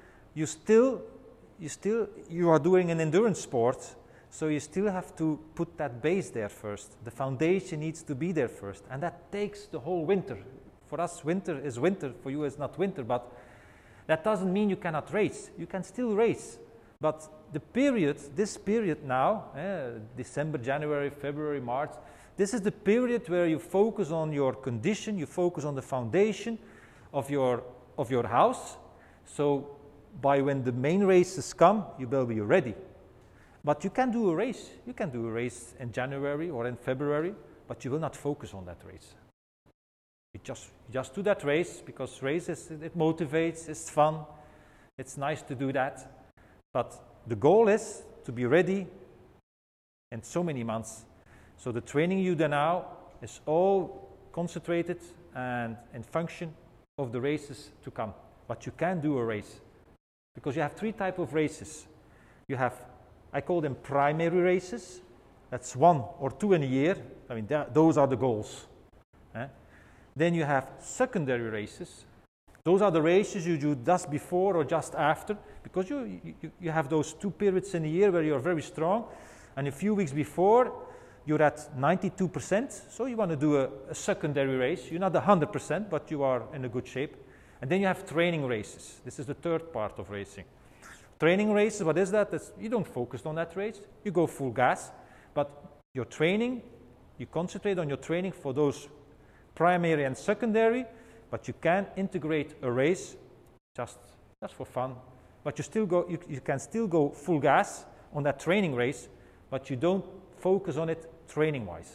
you are doing an endurance sport, so you still have to put that base there first. The foundation needs to be there first, and that takes the whole winter. For us, winter is winter. For you, it's not winter, but that doesn't mean you cannot race. You can still race, but this period now, December, January, February, March, this is the period where you focus on your condition, you focus on the foundation of your house. So by when the main races come, you will be ready. But you can do a race. You can do a race in January or in February, but you will not focus on that race. You just do that race because it motivates, it's fun, it's nice to do that. But the goal is to be ready in so many months. So the training you do now is all concentrated and in function of the races to come. But you can do a race because you have 3 types of races. You have, I call them primary races. That's 1 or 2 in a year. I mean, those are the goals. Then you have secondary races. Those are the races you do just before or just after, because you have those 2 periods in a year where you're very strong, and a few weeks before you're at 92%, so you want to do a secondary race. You're not 100%, but you are in a good shape. And then you have training races. This is the 3rd part of racing. Training races, what is that? You don't focus on that race. You go full gas, but your training, you concentrate on your training for those primary and secondary, but you can integrate a race just for fun. But you can still go full gas on that training race, but you don't focus on it training wise.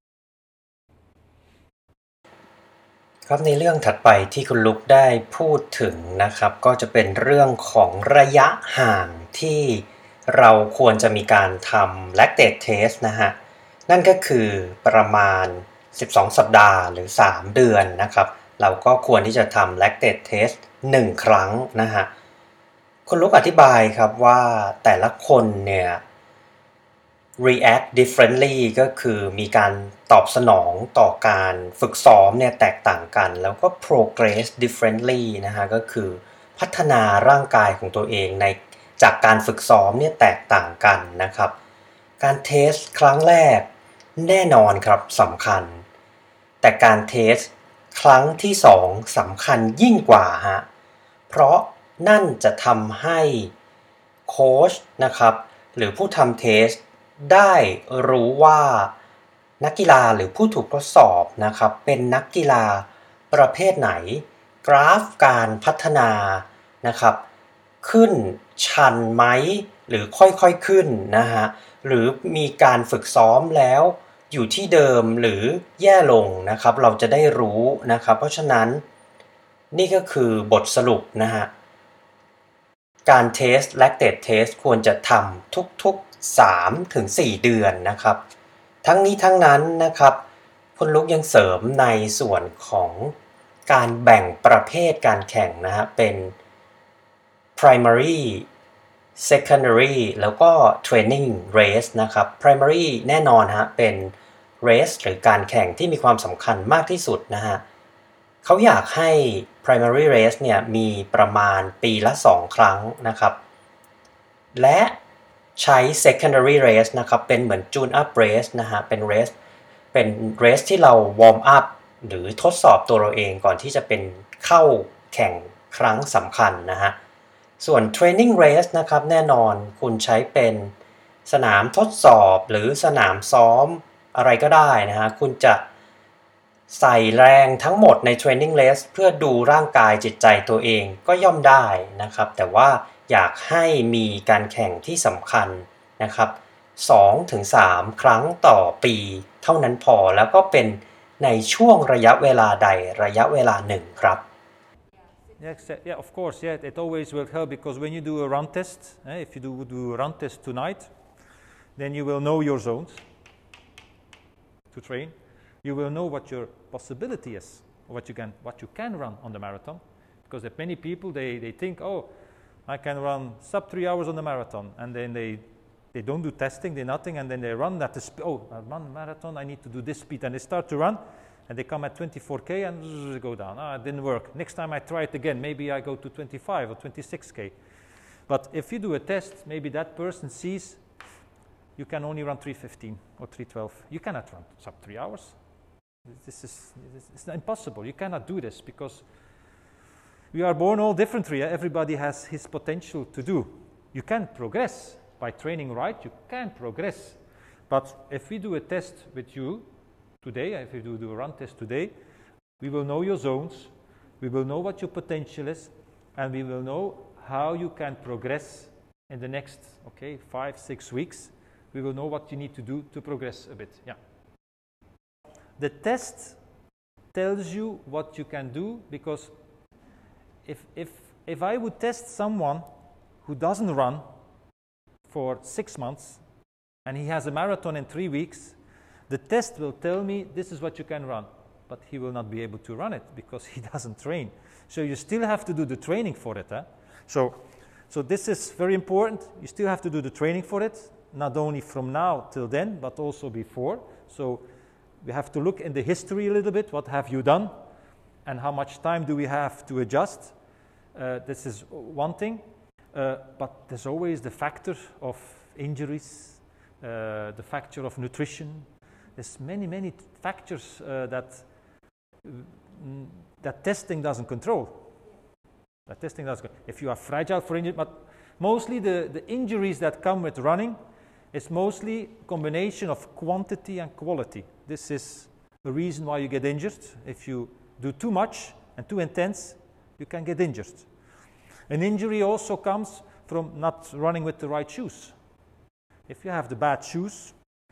ครับในเรื่องถัดไปที่คุณลุกได้พูดถึงนะครับก็จะเป็นเรื่องของระยะห่างที่เราควรจะมีการทำ lactate test นะฮะนั่นก็คือประมาณ12สัปดาห์หรือ3เดือนนะครับเราก็ควรที่จะทำ lactate test 1 ครั้งนะฮะคุณลุกอธิบายครับว่าแต่ละคนเนี่ย react differently ก็คือมีการตอบสนองต่อการฝึกซ้อมเนี่ยแตกต่างกันแล้วก็ progress differently นะฮะก็คือพัฒนาร่างกายของตัวเองในจากการฝึกซ้อมเนี่ยแตกต่างกันนะครับการเทสครั้งแรกแน่นอนครับสำคัญแต่การเทสครั้งที่2สำคัญยิ่งกว่าฮะเพราะนั่นจะทำให้โค้ชนะครับหรือผู้ทำเทสได้รู้ว่านักกีฬาหรือผู้ถูกทดสอบนะครับเป็นนักกีฬาประเภทไหนกราฟการพัฒนานะครับขึ้นชันไหมหรือค่อยๆขึ้นนะฮะหรือมีการฝึกซ้อมแล้วอยู่ที่เดิมหรือแย่ลงนะครับเราจะได้รู้นะครับเพราะฉะนั้นนี่ก็คือบทสรุปนะฮะการเทส lactate test ควรจะทำทุกๆ 3-4 เดือนนะครับทั้งนี้ทั้งนั้นนะครับคุณลุกยังเสริมในส่วนของการแบ่งประเภทการแข่งนะฮะเป็น primary secondary แล้วก็ training race นะครับ primary แน่นอนฮะเป็น race หรือการแข่งที่มีความสำคัญมากที่สุดนะฮะเขาอยากให้ primary race เนี่ยมีประมาณปีละ2 ครั้งนะครับและใช้ secondary race นะครับเป็นเหมือน tune up race นะฮะเป็น race ที่เรา warm up หรือทดสอบตัวเราเองก่อนที่จะเป็นเข้าแข่งครั้งสำคัญนะฮะส่วน training race นะครับแน่นอนคุณใช้เป็นสนามทดสอบหรือสนามซ้อมอะไรก็ได้นะฮะคุณจะใส่แรงทั้งหมดใน training race เพื่อดูร่างกายจิตใจตัวเองก็ย่อมได้นะครับแต่ว่าอยากให้มีการแข่งที่สำคัญนะครับ 2-3 ครั้งต่อปีเท่านั้นพอแล้วก็เป็นในช่วงระยะเวลาใดระยะเวลาหนึ่งครับ Yeah, of course. Yeah, it always will help because when you do a run test, if you do a run test tonight, then you will know your zones to train. You will know what your possibility is, what you can run on the marathon. Because there are many people they think, oh, I can run sub 3 hours on the marathon, and then they don't do testing, they nothing, and then they run at the I run marathon, I need to do this speed, and they start to run. And they come at 24K and go down. It didn't work. Next time I try it again. Maybe I go to 25 or 26K. But if you do a test, maybe that person sees you can only run 3:15 or 3:12. You cannot run sub 3 hours. It's impossible. You cannot do this because we are born all differently. Everybody has his potential to do. You can progress by training right. You can progress. But if we do a test with you today, if you do a run test today, we will know your zones, we will know what your potential is, and we will know how you can progress in the next 5-6 weeks. We will know what you need to do to progress a bit. Yeah. The test tells you what you can do because if I would test someone who doesn't run for 6 months and he has a marathon in 3 weeks, the test will tell me this is what you can run, but he will not be able to run it because he doesn't train. So you still have to do the training for it. So this is very important. You still have to do the training for it, not only from now till then, but also before. So we have to look in the history a little bit. What have you done? And how much time do we have to adjust? This is one thing. But there's always the factor of injuries, the factor of nutrition. There's many factors that testing doesn't control. If you are fragile for injury, but mostly the injuries that come with running is mostly a combination of quantity and quality. This is the reason why you get injured. If you do too much and too intense, you can get injured. An injury also comes from not running with the right shoes. If you have the bad shoes,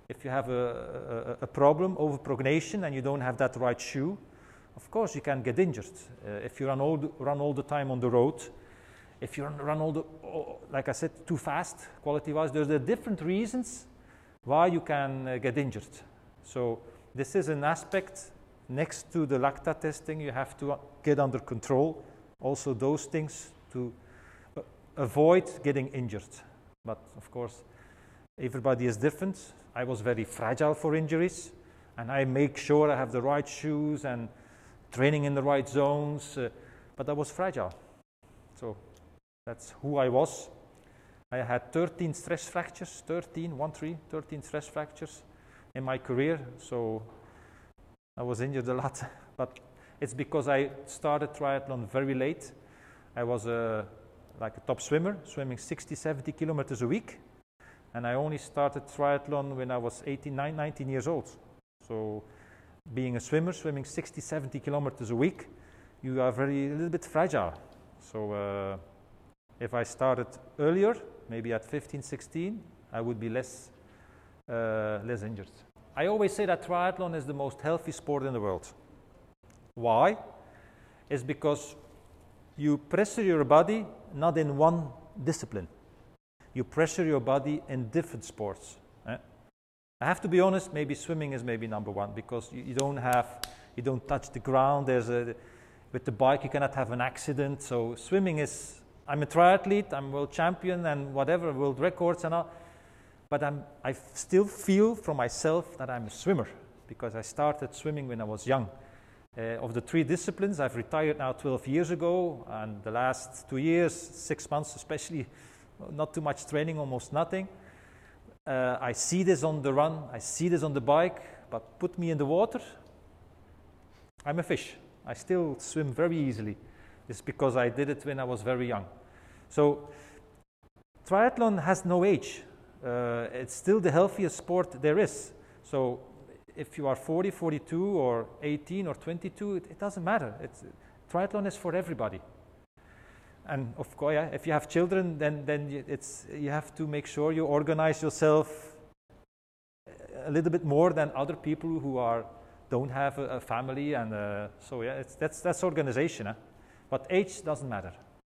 If you have a problem, overprognation, and you don't have that right shoe, of course you can get injured. If you run all the time on the road, if you run like I said, too fast, quality-wise, there's different reasons why you can get injured. So this is an aspect next to the lactate testing you have to get under control. Also those things to avoid getting injured. But of course, everybody is different. I was very fragile for injuries, and I make sure I have the right shoes and training in the right zones, but I was fragile. So that's who I was. I had 13 stress fractures, 13 stress fractures in my career, so I was injured a lot. But it's because I started triathlon very late. I was like a top swimmer, swimming 60, 70 kilometers a week. And I only started triathlon when I was 19 years old. So being a swimmer, swimming 60, 70 kilometers a week, you are a little bit fragile. So if I started earlier, maybe at 15, 16, I would be less injured. I always say that triathlon is the most healthy sport in the world. Why? It's because you pressure your body not in one discipline. You pressure your body in different sports. I have to be honest, maybe swimming is maybe number one, because you don't touch the ground. With the bike you cannot have an accident. So swimming is, I'm a triathlete, I'm world champion and whatever, world records and all. But I still feel from myself that I'm a swimmer, because I started swimming when I was young. Of the three disciplines, I've retired now 12 years ago, and the last 2 years, 6 months especially, not too much training, almost nothing. I see this on the run, I see this on the bike, but put me in the water, I'm a fish. I still swim very easily. It's because I did it when I was very young. So triathlon has no age. It's still the healthiest sport there is. So if you are 40, 42, or 18, or 22, it doesn't matter. Triathlon is for everybody. And of course, yeah, if you have children, then you have to make sure you organize yourself a little bit more than other people who don't have a family. And so yeah, that's organization. But age doesn't matter.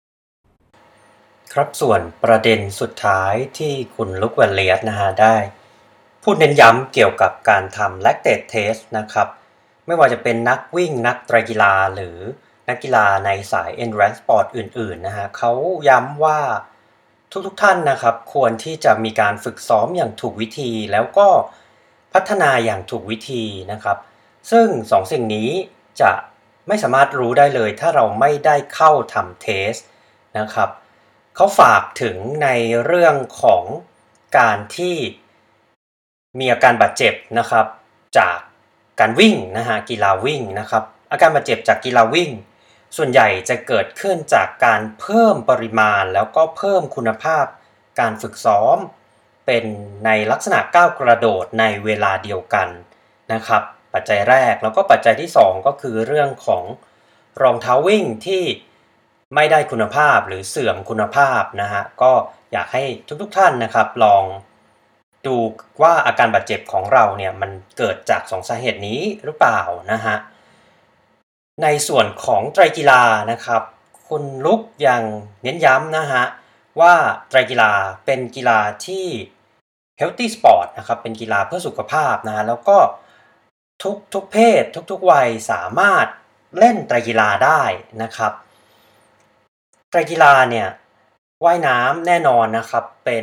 ครับส่วนประเด็นสุดท้ายที่คุณลุคแวนเลียสนะฮะได้พูดเน้นย้ำเกี่ยวกับการทำ lactate test นะครับไม่ว่าจะเป็นนักวิ่งนักไตรกีฬาหรือนักกีฬาในสาย endurance sport อื่นๆนะฮะเขาย้ำว่าทุกท่านนะครับควรที่จะมีการฝึกซ้อมอย่างถูกวิธีแล้วก็พัฒนาอย่างถูกวิธีนะครับซึ่ง2 สิ่งนี้จะไม่สามารถรู้ได้เลยถ้าเราไม่ได้เข้าทำเทสนะครับเขาฝากถึงในเรื่องของการที่มีอาการบาดเจ็บนะครับจากการวิ่งนะฮะกีฬาวิ่งนะครับอาการบาดเจ็บจากกีฬาวิ่งส่วนใหญ่จะเกิดขึ้นจากการเพิ่มปริมาณแล้วก็เพิ่มคุณภาพการฝึกซ้อมเป็นในลักษณะก้าวกระโดดในเวลาเดียวกันนะครับปัจจัยแรกแล้วก็ปัจจัยที่2ก็คือเรื่องของรองเท้าวิ่งที่ไม่ได้คุณภาพหรือเสื่อมคุณภาพนะฮะก็อยากให้ทุกท่านนะครับลองดูว่าอาการบาดเจ็บของเราเนี่ยมันเกิดจาก2 สาเหตุนี้หรือเปล่านะฮะในส่วนของไตรกีฬานะครับคุณลุกยังเน้นย้ำนะฮะว่าไตรกีฬาเป็นกีฬาที่ healthy sport นะครับเป็นกีฬาเพื่อสุขภาพนะฮะแล้วก็ทุกเพศทุกวัยสามารถเล่นไตรกีฬาได้นะครับไตรกีฬาเนี่ยว่ายน้ำแน่นอนนะครับเป็น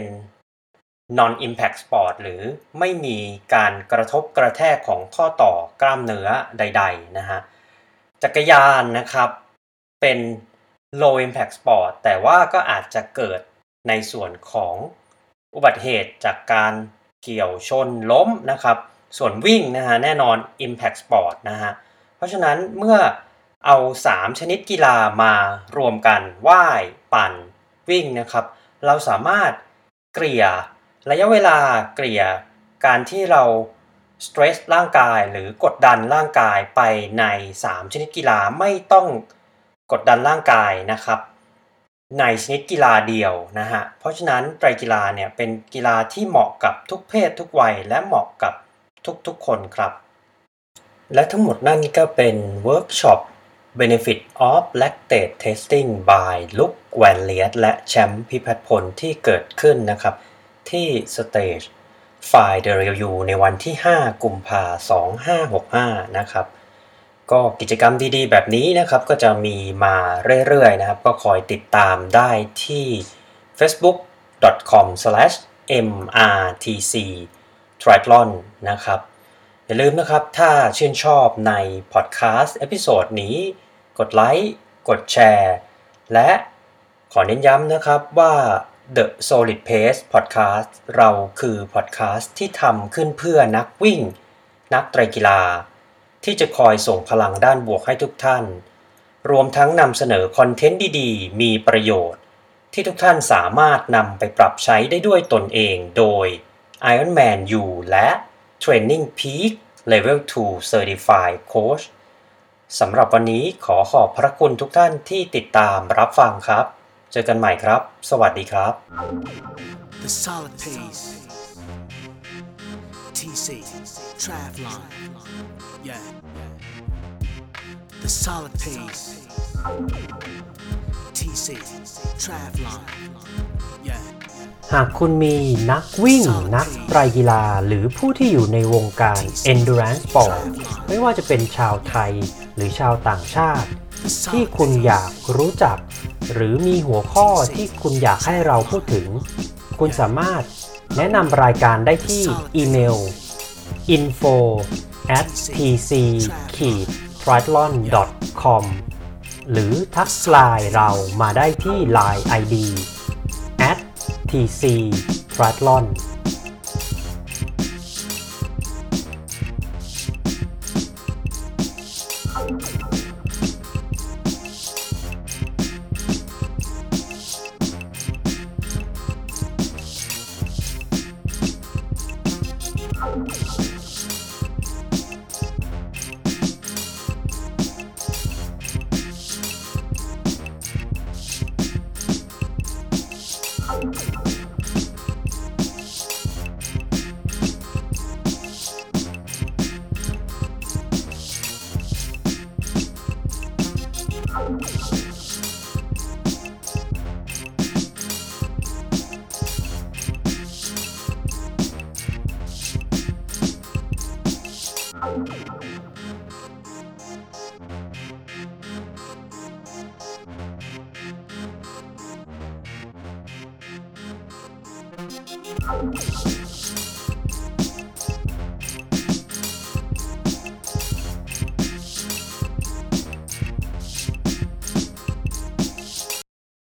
non impact sport หรือไม่มีการกระทบกระแทกของข้อต่อกล้ามเนื้อใดๆนะฮะจักรยานนะครับเป็น low impact sport แต่ว่าก็อาจจะเกิดในส่วนของอุบัติเหตุจากการเกี่ยวชนล้มนะครับส่วนวิ่งนะฮะแน่นอน impact sport นะฮะเพราะฉะนั้นเมื่อเอา3 ชนิดกีฬามารวมกันว่ายปั่นวิ่งนะครับเราสามารถเกลี่ยระยะเวลาเกลี่ยการที่เราสเตรสร่างกายหรือกดดันร่างกายไปใน3 ชนิดกีฬาไม่ต้องกดดันร่างกายนะครับในชนิดกีฬาเดียวนะฮะเพราะฉะนั้นไตรกีฬาเนี่ยเป็นกีฬาที่เหมาะกับทุกเพศทุกวัยและเหมาะกับทุกๆคนครับและทั้งหมดนั่นก็เป็นเวิร์กช็อป Benefit of Lactate Testing by ลุคแวนเลียตและแชมป์พิพัฒน์พลที่เกิดขึ้นนะครับที่ Stage 5 WU ในวันที่ 5 กุมภาพันธ์ 2565 นะครับก็กิจกรรมดีๆแบบนี้นะครับก็จะมีมาเรื่อยๆนะครับก็คอยติดตามได้ที่ facebook.com/mrtc triathlon นะครับอย่าลืมนะครับถ้าชื่นชอบในพอดแคสต์เอพิโซดนี้กดไลค์กดแชร์และขอเน้นย้ำนะครับว่า The Solid Pace Podcast เราคือพอดแคสต์ที่ทำขึ้นเพื่อนักวิ่งนักไตรกีฬาที่จะคอยส่งพลังด้านบวกให้ทุกท่านรวมทั้งนำเสนอคอนเทนต์ดีๆมีประโยชน์ที่ทุกท่านสามารถนำไปปรับใช้ได้ด้วยตนเองโดย Ironman U และ Training Peak Level 2 Certified Coach สำหรับวันนี้ขอขอบพระคุณทุกท่านที่ติดตามรับฟังครับเจอกันใหม่ครับสวัสดีครับ The solid pace. TC Triathlon. Yeah. The solid pace. TC Triathlon. Yeah. หากคุณมีนักวิ่งนักไตรกีฬาหรือผู้ที่อยู่ในวงการ Endurance Sport ไม่ว่าจะเป็นชาวไทยหรือชาวต่างชาติที่คุณอยากรู้จักหรือมีหัวข้อที่คุณอยากให้เราพูดถึงคุณสามารถแนะนำรายการได้ที่อีเมล info@tc-triathlon.com หรือทักไลน์เรามาได้ที่ Line ID @tc-triathlon